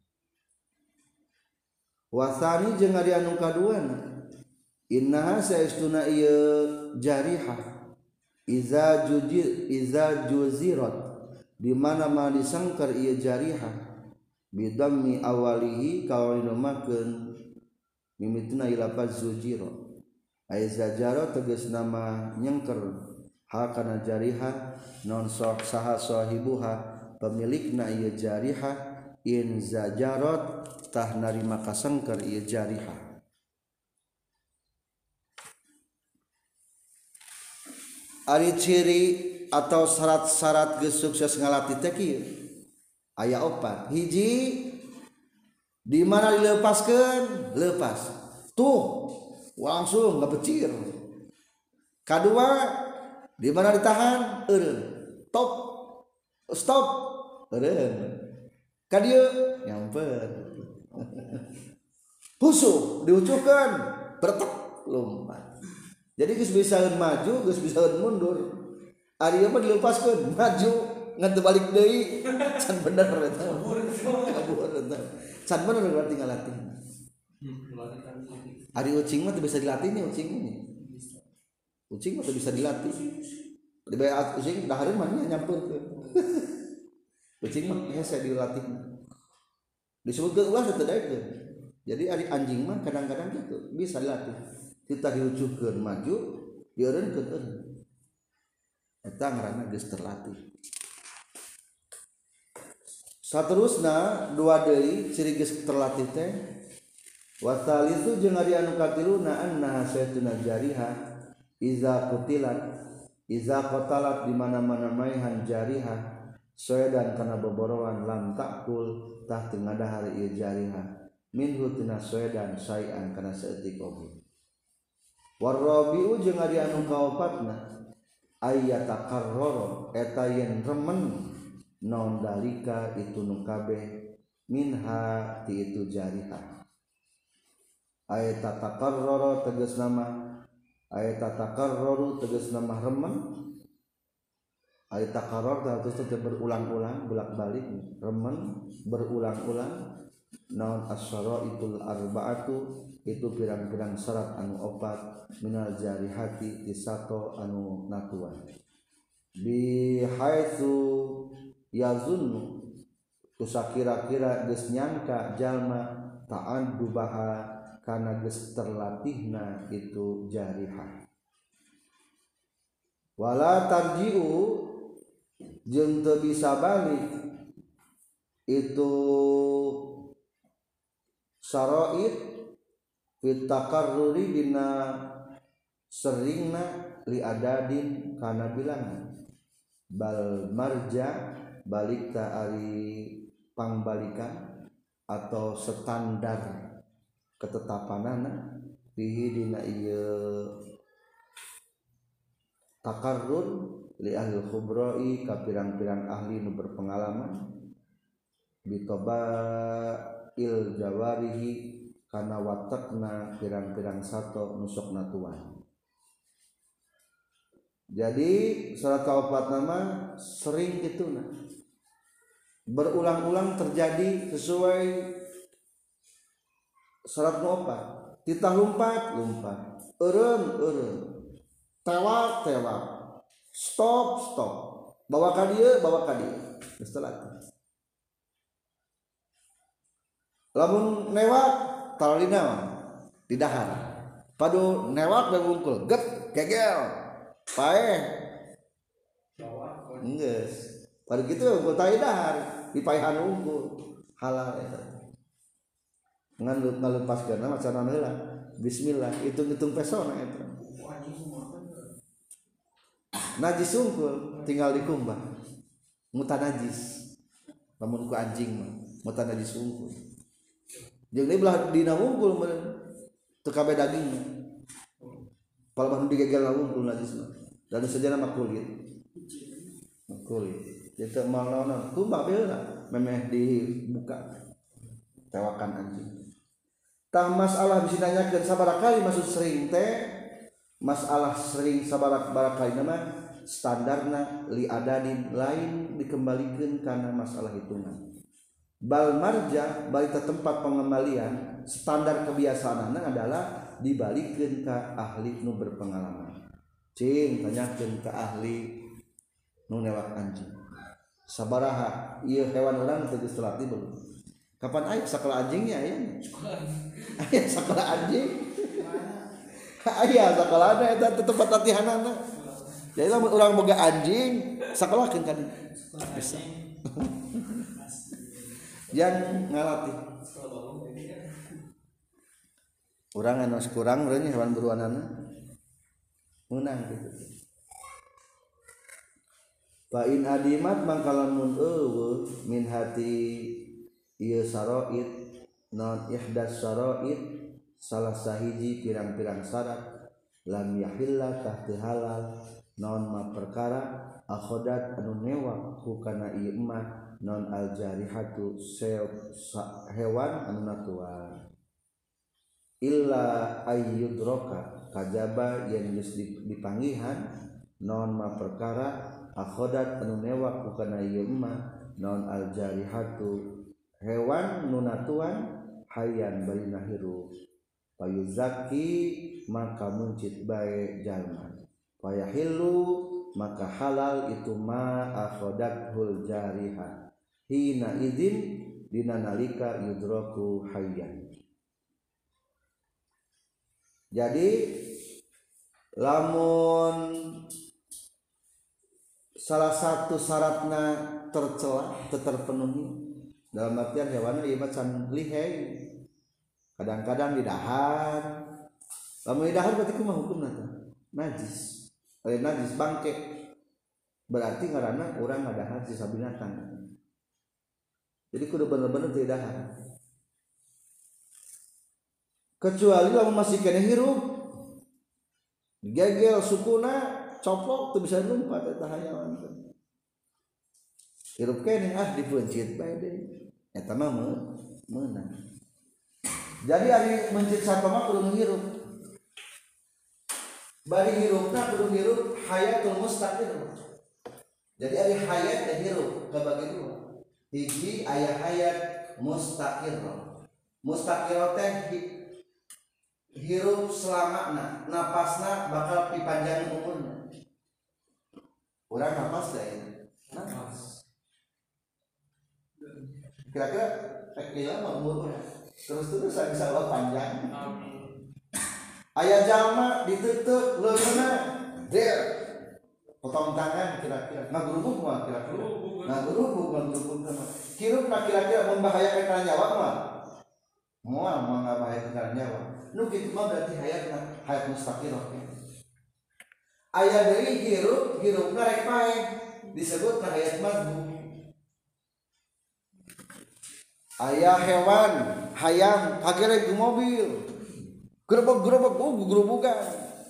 Wasani jeung ari anu kaduana innaha saestuna ieu jarihah iza juzirat di mana-mana disangkar ieu jarihah bidammi awalihi kawalina makeun mimitna ilafaz zujiro ay zajaro tegas nama nyengker ha kana jarihah non sok saha sahibuha pemilikna ieu jarihah in zajarot tah narima kasengker ieu jarihah. Ari ciri atau syarat-syarat geus sukses ngalatih teh kieu aya opat. Hiji di mana dilepaskeun lepas tuh langsung ngabecir. Kadua di mana ditahan eureun top stop eureun kadieu nyamper husuh diucuhkeun bertek lompat. Jadi geus bisaeun maju geus bisaeun mundur ari mah dilepaskeun maju ngan teu balik deui can bener eta kabur eta can bener berarti ngalatih ari ucing mah teu bisa dilatih nih ucing mah teu bisa dilatih di bae ucing dahareun mah nya nyampeurkeun ucing mah hese dilatih disebutkeun ulah teu daekeun. Jadi ari anjing mah kadang-kadang gitu bisa dilatih kita diucuhkeun maju dieureunkeun eureun eta ngaranna geus terlatih. Saterusna dua deui ciri geus terlatih teh wa tsalitsu jeung ari anu katiluna anna saytuna jariha iza qatalat di mana-mana maihan jariha soedan kana boborowan lam takul tah teu ngadahar ieu jariha minhu tina soedan sayan kana saeutik oge. Warabiu jeung ari anu kaopatna ayyatakarrara eta yen remen naon dalika itu nu kabeh minha ti itu jarihah. Ayatatakarrara tegas nama ayatatakarraru tegas nama remen Ai takarrar terus berulang-ulang bolak-balik remen berulang-ulang naon as-syaraitul arba'atu itu pirang-pirang syarat anu opat minal jarihati disato anu natuan bi haitsu yazunnu kusakira-kira geus nyangka jalma ta'addubaha kana geus terlatihna itu jarihah wala tarji'u jeung teu bisa balik itu syara'id fit takarruri dina seringna li adadin kana bilangan bal marja balik ta ari pangbalikan atau standar ketetapanana fihi dina ieu takarrur li ahli khubrai ka pirang-pirang ahli nu berpengalaman bitoba il jawarihi kana watakna pirang-pirang sato nusuk natuan. Jadi surat kaopat nama sering gitu nah berulang-ulang terjadi sesuai surat opat titah lumpat eureum tewak stop bawa ka dieu geus teu latih lamun newak talina di dahar padu newak da wungkul get gegel paeh geus padu kitu wungkul tali dahar dipaehan wungkul halal eta ngan ngalepaskeun macana heula bismillah hitung-hitung pesona eta najis wungkul tinggal dikumbah mutan najis lamun ku anjing mah mutan najis wungkul jeung deui belah dina wungkul meureun teu kabeh dagingna palaman digegel wungkul najisna dan sejenna mah kulit itu malona kumbah beula memeh dibuka tewakan anjing tah masalah bisa nanyakeun sabaraha kali maksud sering teh masalah sering sabaraha kali nama standarna li adadin lain dikembalikan karena masalah hitungan bal marja balik ke tempat pengembalian standar kebiasaanna adalah dibalikkeun ka ahli nu berpengalaman cing tanyakeun ka ahli nu newak anjing sabaraha ieu hewan urang teu geus latih belum kapan aya sakola anjingnya aya aya sakola anjing aya sakolana eta tempat latihanana jadi lamun urang boga anjing sakolahkeun kan bisa yang ngalatih urang anu kurang meureun hewan buruanana meunang gitu fa in adimat mangkalamun eueuh min hati ieu saraid non ihdas saraid salah sahiji pirang-pirang syarat lam yahilla tah teu halal non ma perkara akhodat anu newak hukana ieu emah non al jarihatu hewan anu natuan illa ayyudroka kajaba yang geus dipanggihan non ma perkara akhodat anu newak hukana ieu emah non al jarihatu hewan nu natuan hayyan barina hirup payuzaki maka muncit bae jalma payahillu maka halal itu ma akhodathul jarihah hina idzin dina nalika yudraku hayyan. Jadi lamun salah satu syaratna tercela terpenuhi dalam artian hewan ieu mah can lihai kadang-kadang di dahar lamun di dahar berarti kumaha hukumna najis najis bangke berarti ngaranna urang ngadahar sisa binatang jadi kudu bener-bener teu dahar kecuali lamun masih kena hirup gegel sukuna coplok teu bisa numpat eta hayawan hirup kene dipencit bae deui eta mah meunang jadi ari mencit sato mah kudu ngirup bari hirupna kudu hirup hayatul mustaqir Jadi ada hayat dan hirup kebagi dua. Hiji aya hayat mustaqir. Mustaqir teh hirup selamana, napasna bakal dipanjang umurnya. Urang napas da ya. Napas. Kira-kira lama umur urang. Terus bisa panjang. Amin. Aya jalma ditutup leungeunna der potong tangan kira-kira ngagerubuk mah kira-kira ngagerubuk hirupna kira-kira membahayakan kana nyawa mah moal ngabahayakeun kana nyawa nu kitu mah berarti hayat mustaqirah. Aya deui hirupna rek pae disebutna hayat madbu. Aya hewan hayam kagereg ku mobil gerobak gugurubukan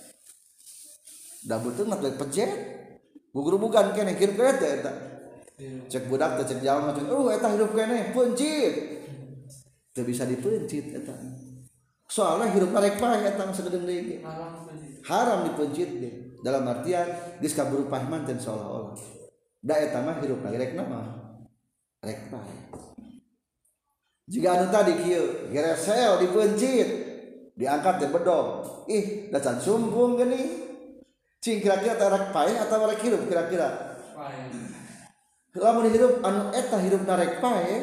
da beuteung mah pejet gugurubukan keneh kieu eta cek budak teh cek jalma cek eta hirup keneh pencit teu bisa dipencit eta soalna hirupna rek paeh eta sagedeung deui haram dipencit ge dalam artian geus kaburu paeh teh seolah-olah da eta mah hirupna rek naon rek paeh jika anu tadi kieu geresel dipencit diangkat di bedog da can sumpung geuning cing kira-kira rek paeh atawa rek hirup kira-kira paeh lamun hirup anu eta hirupna rek paeh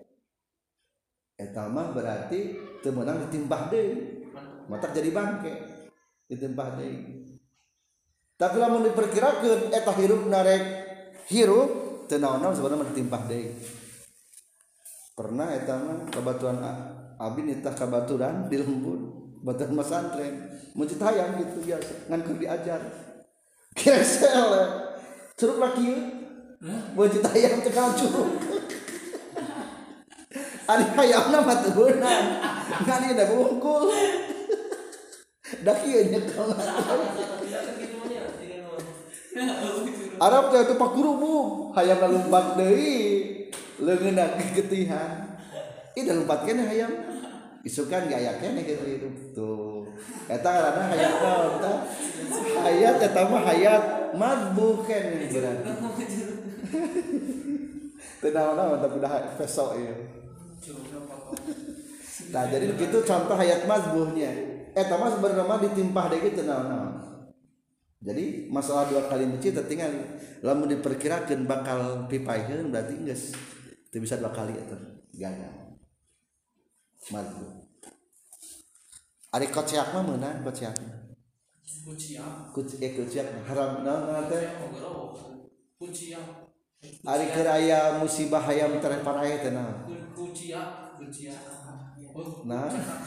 eta mah berarti teu meunang ditimpah deui matak jadi bangke ditimpah deui. Tapi lamun diperkirakeun eta hirupna rek hirup teu naon-naon sebenarnya ditimpah deui. Pernah eta mah kabaturan abdi nitah kabaturan di lembur baturan pesantren muncit hayam gitu biasa ngan keur diajar kesel curug laki muncit hayam teh kana curug ari hayamna mah teu beunang ngan ieu da bungkul da kieu nyekel Arab teh teu pakurubuk hayamna lumpat deui leungeunna gegetihan ih da lumpat keneh hayam isukan gaya keneh gitu hidup tuh eta ngaranna hayat naon tah hayat eta mah hayat madbuh keneh berarti teu naon-naon tapi dah pesok ieu. Nah jadi begitu contoh hayat madbuhnya eta mah sebenarnya mah ditimpah deui teu naon-naon. Jadi masalah dua kali mencit tinggal lamun diperkirakeun bakal pipaeun berarti geus teu bisa dua kali eta gagal. Madbu. Ari kociak mah meunang kociak. Kociak haram naon teh? Kociak. Ari keur aya musibah hayam tereparae teh naon? Kociak. Nah.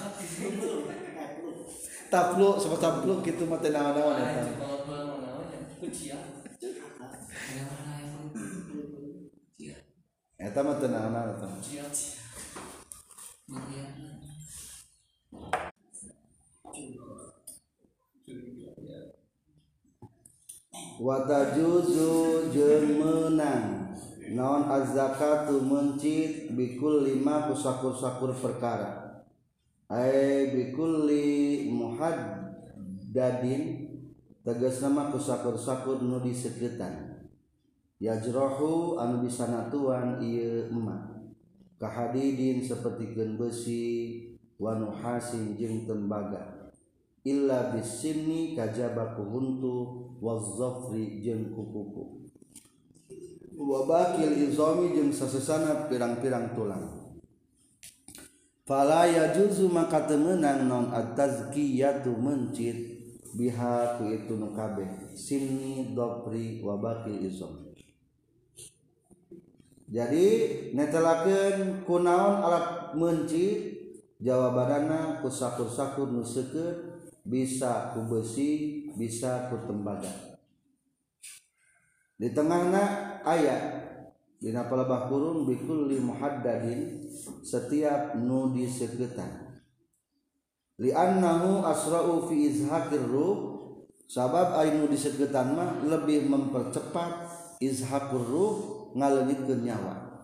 Tapluk sama tapluk kitu mah teh naon-naon eta. Kociak. Eta mah teu naon-naon eta. Watajuzu jeung meunang naon az-zakatu mencit bikul 5 kusakur-sakur perkara ai bikulli muhaddadin tegasna mah kusakur-sakur nu diseukeutana yajrahu anu disanatuan ieu emak kahadidin sapertikeun besi wa nuhasin jeung tembaga illa bisinni kajaba ku huntu waz-zafri jeung kuku wa bakil izami jeung sasesana pirang-pirang tulang fala yajuzu maka teu meunang naon at-tazkiyatu mencit biha ku itu nu kabeh sinni dhafri wa bakil izam. Jadi netelakeun kunaon alat mencit jawabanana ku sakur-sakur nu seukeut bisa ku besi bisa ku tembaga. Di tengahna aya dina palebah kurung bikulli muhaddadin setiap nu diseukeutana li annahu asra'u fi izhaqir ruh sabab aya nu diseukeutana mah lebih mempercepat izhaqur ruh ngaleungitkeun nyawa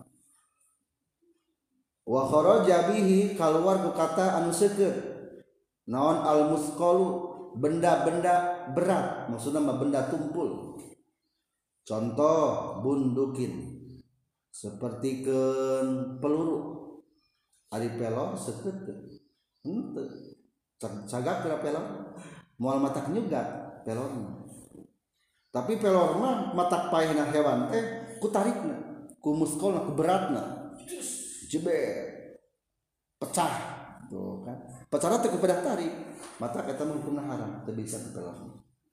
wa kharaja bihi kaluar ku kata anu seukeut naon al musqalu benda-benda berat maksudna mah benda tumpul contoh bundukin sepertikeun peluru ari pelor seukeut henteu cagak pira pelor moal matak nyugat pelorna tapi pelor mah matak paehna hewan teh ku tarikna ku muskolna ku beratna jebet pecah tuh kan pecahna teh ku pedah tarik matak eta mah hukumna haram teu bisa ku pelor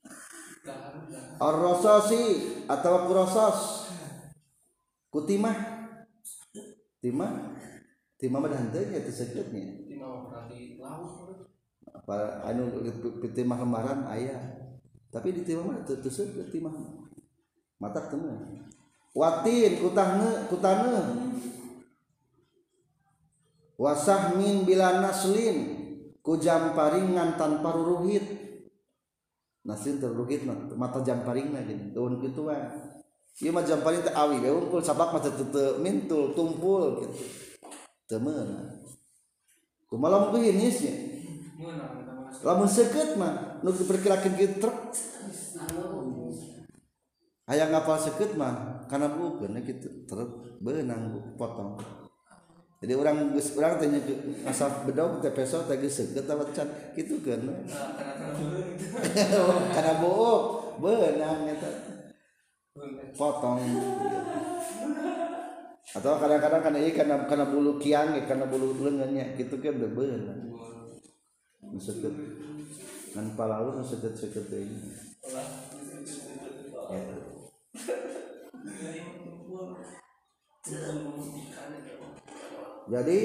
ar-rasasi atawa ku rasos ku timah mah henteu nya teu seukeutnya timah berarti laut apa anu timah lemaran aya tapi di timah mah teu seukeut timah matak teu mah watin kutane wasahmin bila naslin ku jamparingan tanpa ruruhit naslin teruruhit mata jamparingna gini daun kituan ieu mah jamparing teh awi we unggul sablak mah teu mintul tumpul gitu teu meunang kumaha lamun geusnya lamun seukeut mah nu diperkirakeun kieu truk aya ngapal seukeut mah kana bukeun kitu truk beunang potong jadi urang teh asal bedog teh peso teh geus seukeut ta can kitukeun kana buuk beunang eta potong atau kadang-kadang kana bulu kiang kana bulu leungeunnya kitu kan beunang seukeut ngan palaur seukeut deui jadi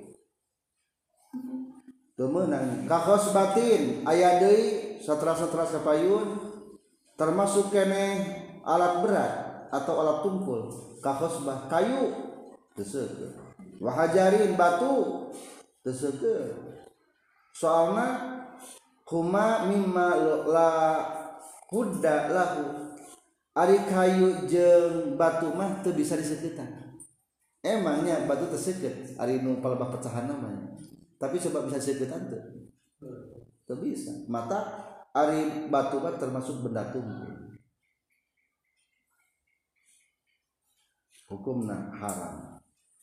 teu meunang kakos batin aya deui satra-satra sapayun termasuk keneh alat berat atau alat tumpul kakosbah kayu teu seukeut wahajarin batu teu seukeut soalna huma mimma la hudda lahu ari kayu jeung batu mah teu bisa diseukeutkan emangnya batu teu seukeut ari nu palebah pecahan namanya tapi coba bisa diseukeutkan teu bisa mata ari batu mah termasuk benda tumpul hukumna haram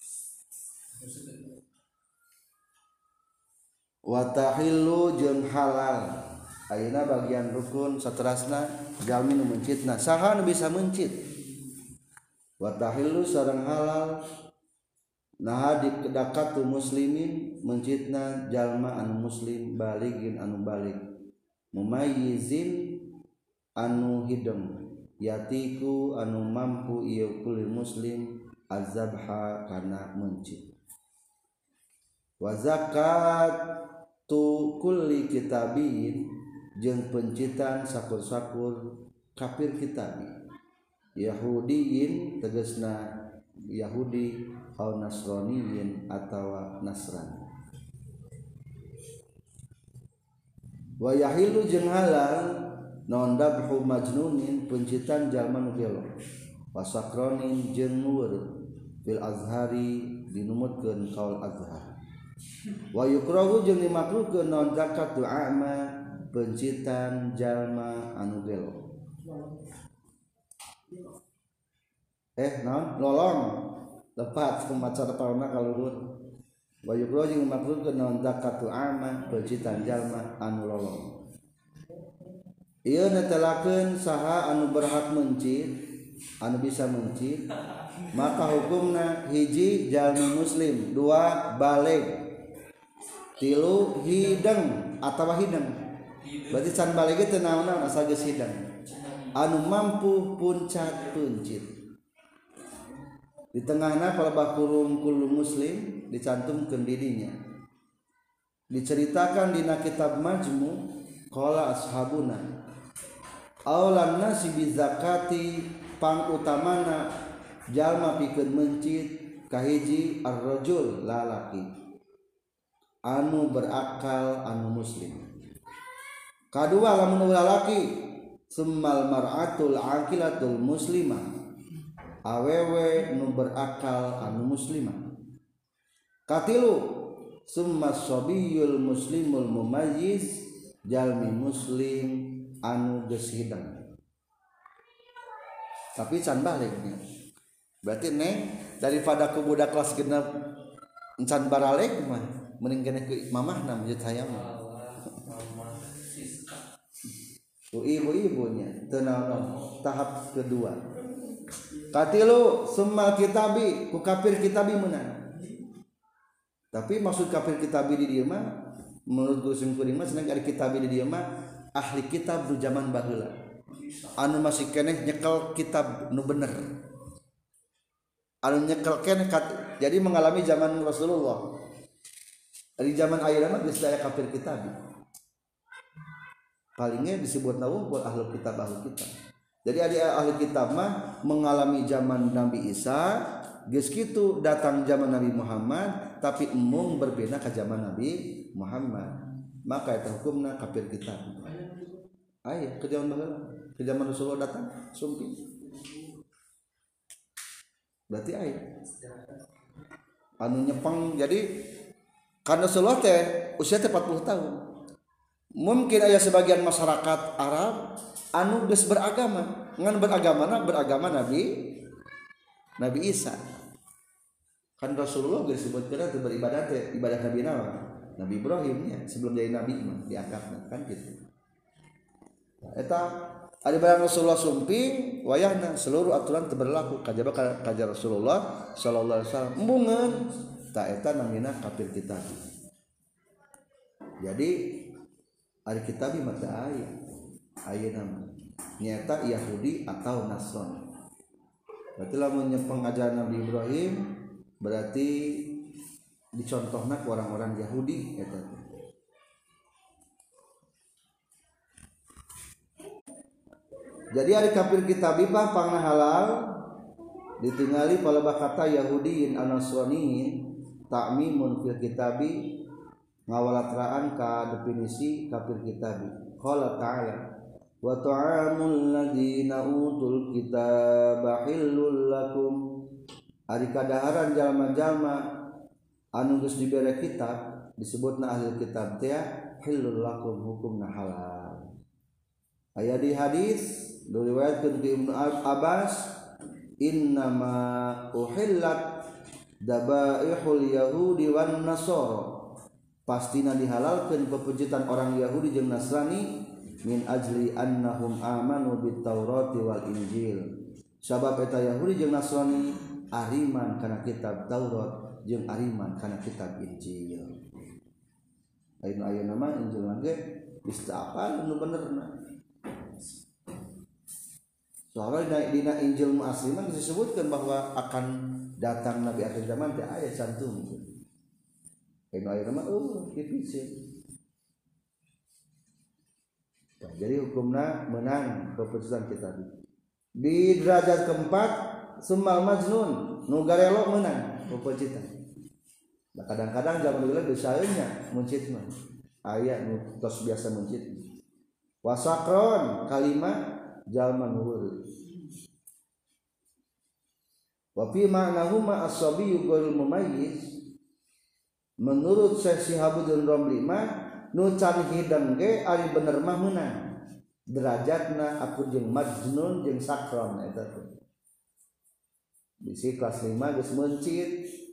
wa tahillu jeung halal ayeuna bagian rukun saterasna jalmi nu mencitna saha nu bisa mencit wa tahillu sareng halal nah dikadakatu muslimin mencitna jalma anu muslim baligin anu balik mumayyizin anu hidem yatiku anu mampu ieu kulir muslim azabha kana mencit wa zakatu kulli kitabiyin jeung pencitan sakur-sakur kafir kitabi yahudiyin tegasna yahudi au nasraniyin atawa nasrani wa yahilu jeung halal non dabhu majnunin pencitan jalma nu gelo wasakronin jeung nur fil azhari dinumutkeun kaul azhar wa yukrahu jeung dimakruhkeun non zakatu a'ma pencitan jalma anu gelo non lolong tepat kumaca depanna kaluhur wa yukrahu jeung dimakruhkeun non zakatu a'ma pencitan jalma anu lolong ieu netelakeun saha anu berhak mencit anu bisa mencit maka hukumna hiji jalmi muslim dua balig tilu hideng atawa hideng berarti can balig teh naon asal geus hideng anu mampu puncat puncit di tengahna palebah kurung muslim dicantumkeun didinya diceritakan dina kitab majmu qala ashabuna aulan nasi bizakati pang utamana jalma pikeun mencit kahiji ar-rajul lalaki anu berakal anu muslim kadua lamun lalaki summal mar'atul aqilatul muslimah awewe nu berakal anu muslimah katilu summa sabiyul muslimul mumayyiz jalmi muslim anu geus hidang tapi can baliknya berarti neng daripada ku budak kelas genep can baralik mah mending kena ke mamahna menjut hayam ku ibu-ibunya tenang tahap kedua katilu summa kitabi ku kafir kitabi menang tapi maksud kafir kitabi di dieu mah menurut Gusim Kuring mah seneng ari kitabi di dieu mah ahli kitab du zaman baheula anu masih keneh nyekel kitab nu bener anu nyekel keneh jadi mengalami zaman Rasulullah di zaman ayeuna mah geus aya kafir kitabi palingnya disebut nawungkul ahli kitab jadi ada ahli kitab mah mengalami zaman Nabi Isa geus kitu datang zaman Nabi Muhammad tapi emung berbeda ke zaman Nabi Muhammad maka eta hukumna kafir kitab aya ke zaman baheula ke zaman Rasulullah datang sumpi berarti aya anu nyepeng jadi karena Rasulullah teh usia teh 40 tahun mungkin aya sebagian masyarakat Arab anu geus beragama ngan beragama Nabi Isa kan Rasulullah geus disebutkeun teh beribadah teh ibadah Nabi Nabi Ibrahim nya sebelum jadi nabi mah diangkatna kan gitu eta ari barang Rasulullah sumping wayahna seluruh aturan teu berlaku kajaba kajar Rasulullah sallallahu alaihi wasallam embungeun ta eta namina kafir kitab jadi ari kitab mah teu aya ayeuna nyata Yahudi atau Nasrani berarti lamun nyepeng ajaran Nabi Ibrahim berarti dicontohna ku orang-orang Yahudi eta jadi ari kafir kitabi mah pangna halal ditingali palebah kata Yahudiin an-Nasraniin ta'mimun fil kitabi ngawalatraan ka definisi kafir kitabi qala ta'ala wa ta'amul ladzina utul kitaba hillul lakum ari kadaharan jalma-jalma anu geus dibere kitab disebutna ahli kitab teh hillul lakum hukumna halal aya di hadis diriwayatkeun ti Ibnu Abbas innama uhillat dabaihul yahudi wan nasara pastina dihalalkeun pepujitan orang Yahudi jeung Nasrani min ajli annahum amanu bit Taurati wal Injil sabab eta Yahudi jeung Nasrani ariman kana kitab Taurat jeung ariman kana kitab Injil ayeuna mah Injil mah ge geus teu apal nu benerna soalnya dina Injil mu asli mah disebutkan bahwa akan datang Nabi akhir zaman teh aya cantum ayeuna mah dipicin jadi hukumna menang keputusan kitab di derajat keempat summal majnun nu garelo menang keputusan nah, kadang-kadang zaman dulu biasanya muncit mah aya nu tos biasa muncit wasakron kalimat jalma nuhur wa fi ma'nahuma as-sabiyyu ghairul mumayyiz menurut Syekh Shihabuddin Romli mah nu can hidang ge ari bener mah meunang derajatna aku jeung majnun jeung sakron eta teh bisi kelas 5 geus mencit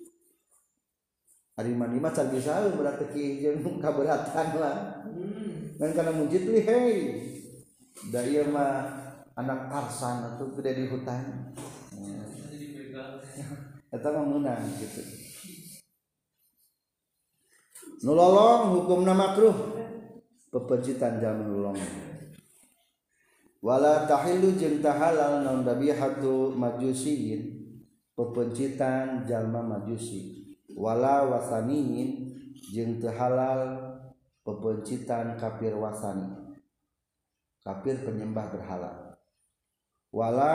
ari mani mah can bisa berarti ki jeung kaberatan lah dan kana muncit li hei da ieu mah anak Tarsan atuh gede di hutan eta mah meunang gitu nulolong hukumna makruh pepencitan jalma nulolong wala tahillu jeung tahalal naun dabihatu majusiin pepencitan jalma majusi wala wasaniin jeung teu halal pepencitan kafir wasani kafir penyembah berhala wala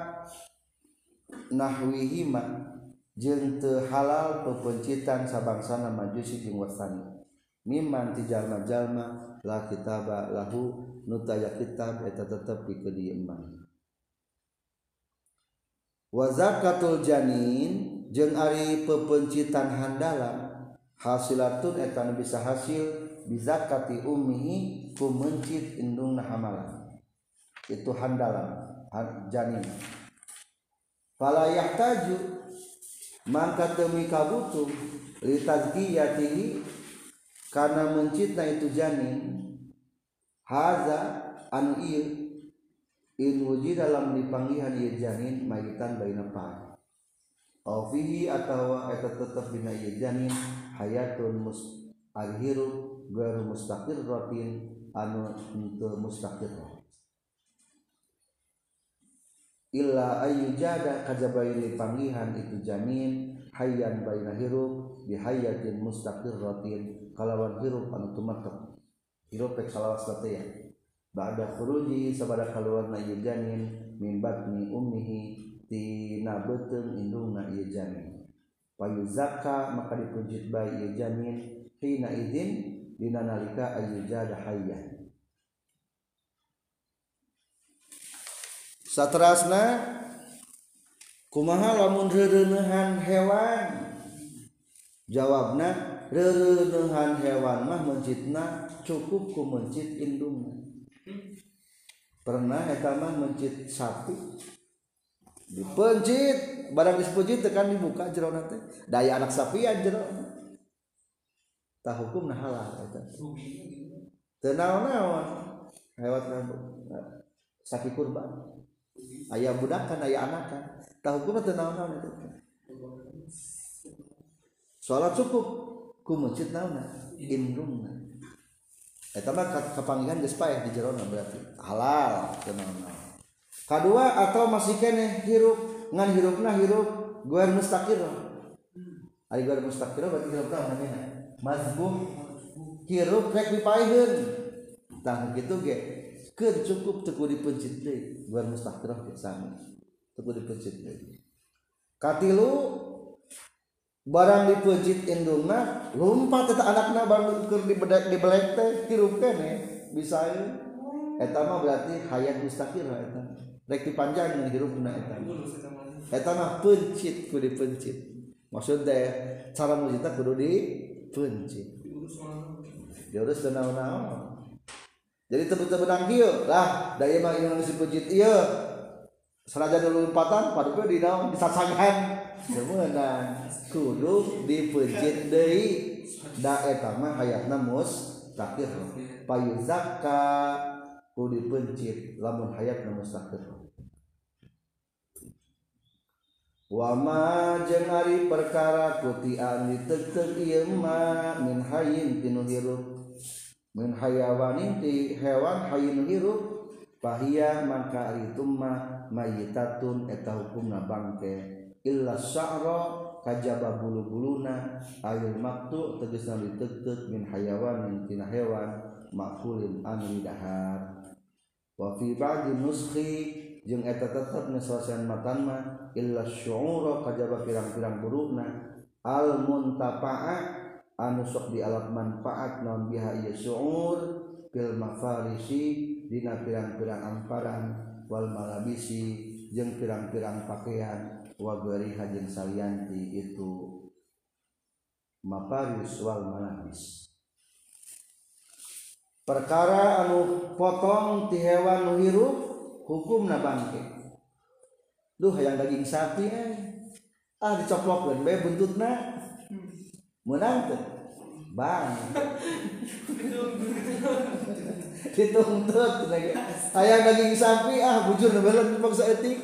nahwihima jeung teu halal pepencitan sabangsana majusi jeung wasani mimman ti jalma-jalma la kitaba lahu nu taya kitab eta tetep pikeun ieu iman wa zakatul janin jeung ari pepencitan handalan hasilatun eta nu bisa hasil bizakati ummihi ku mencit indungna hamalan itu handalan janin fala yahtaju maka temi kabutuh li tazkiyatihi karena mencitna itu janin haza anu ieu in wujud dalam dipanggihan ieu janin mayitan baina pa au fihi atawa eta tetep dina ieu janin hayatun alhiru gharu mustaqirratin anu henteu mustaqir illa ayyujada kajabaini panggihan itu janin hayyan baina hirup bihayatin mustaqirratin kalawan hirup anu tumatek hirup rek salawas teh ya ba'da khuruji sabada kaluarna ieu janin min batni ummihi tina beuteung indungna ieu janin payuzakka maka dipujit bae ieu janin hina idzin dina nalika ayyujada hayyan. Saterasna kumaha lamun reureueuhan hewan jawabna reureueuhan hewan mah mencitna cukup ku mencit indungna pernah eta mah mencit sapi dipencit barang dipencit tekan dibuka jerona teh daya anak sapian jerona tah hukumna halal eta teu naon-naon hewan sapi kurban aya budakan aya anakan tah hukumna teu naon-naon eta salat cukup ku mencit naonna indungna eta mah kapanggihan geus paeh di jerona berarti halal teu naon-naon. Kadua atau masih kene hirup ngan hirupna hirup guar mustaqir ari guar mustaqir berarti hirupna namina mazbuh hirup rek dipaeheun tah kitu ge keur cukup teu kudu dipencit deui guar mustaqirah ge sami teu kudu dipencit deui. Katilu barang dipencit indungna lumpat eta anakna barang keur dibelek teh hirup keneh bisa eta mah berarti hayat mustaqirah eta rek dipanjangkeun hirupna eta mah pencit kudu dipencit maksudna cara mujitna kudu dipencit diurus teu naon-naon. Jadi teu benang kieu lah da ieu mah ieu geus dipencit ieu sanajan lompatan paduke di naon disasangan teu meunang kudu dipencit deui da eta mah hayatna mustaqir payuzakka kudu dipencit lamun hayatna mustaqir. Wa ma jeung ari perkara kutian diteuteuh ieu mah min hayyin tinu hirup min hayawanin ti hewan hayyin hirup fahiya maka ari tumma mayitatun eta hukumna bangke illa sya'ra kajaba bulu-buluna ayul maktu tegasna diteuteuh min hayawanin tina hewan makulin anu dahar wa fi ba'di nuskhi jeung eta tetep ngeselesaian matan mah illa syu'ura kajaba pirang-pirang burukna al muntafa'ah anu sok dialat manfaat naon biha ieu syu'ur fil mafarisi dina pirang-pirang amparan wal malabisi jeung pirang-pirang pakaian wa ghairiha jeung salianti itu mafaris wal malabis. Perkara anu potong ti hewan nu hirup hukumna bangke. Duh hayang daging sapi dicoplokkeun bae buntutna meunang teu bang dituntut lagi hayang daging sapi bujur nebelan dipaksa etik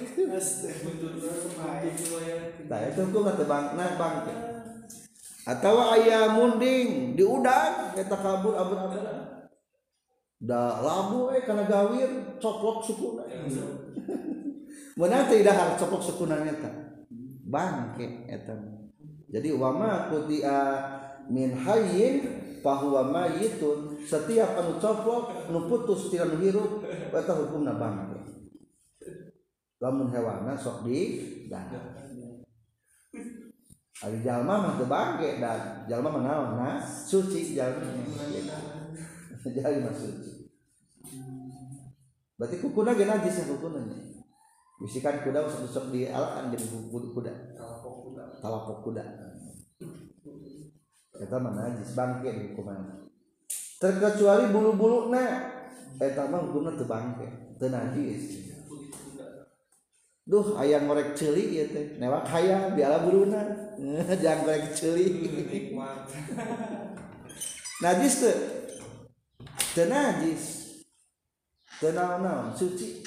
tah eta hukumna teu bangke atawa aya munding di udang eta kabur abur-aburan da labu kana gawir coplok sukuna meunang teh dahar coplok sukuna eta bangke eta. Jadi wama kutia min hayyin fahuwa mayitun setiap anu coplok nu putus tina nu hirup eta hukumna bangke lamun hewanna sok di dahar ari jalma mah teu bangke da jalma mah naon suci jalma jadi maksud berarti kukuna ge najis kukuna bisikan kuda sok di alaan jadi kuda talapok kuda eta mah najis bangke di hukuman terkecuali bulu-buluna eta mah hukumna teu bangke teu najis duh ayam ngorek ceuli ieu teh newak hayam biala buluna jangan ngorek ceuli najis teu najis teu naon suci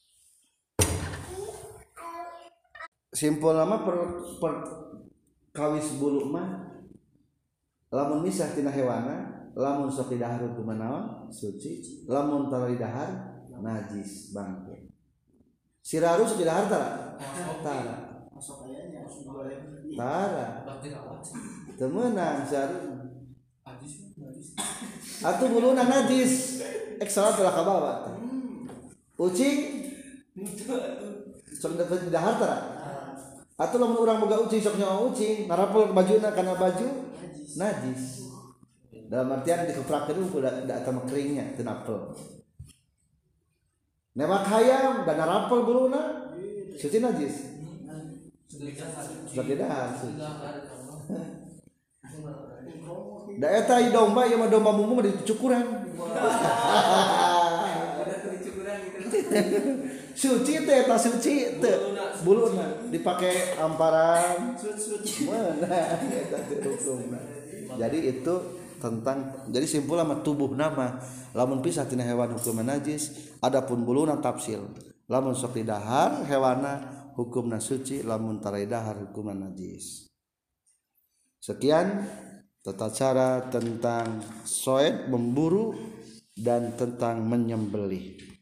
simpul nama per kawis bulu mah lamun misah tina hewana lamun sok didahar hukum naon suci lamun tara didahar najis bangke siraru sok didahar tara teu meunang siraru atuh buluna najis ek salat ulah kabawa ucing sok didahar tara atuh lamun urang boga ucing sok nyawa ucing narapel bajuna kana baju najis dalam artian dikeprakeun ku da atama keringnya teu napel newak hayam dan narapel buluna suci najis suci dahar da eta domba ieu mah domba mumung dicukuran suci teh eta suci teh buluna dipake amparan mana eta hukumna jadi itu tentang jadi simpul sama tubuh nama lamun pisah tina hewan hukum najis adapun buluna tafsil lamun sok didahar hewana hukumna suci lamun tara dahar hukumna najis. Sekian tata cara tentang soed memburu dan tentang menyembelih.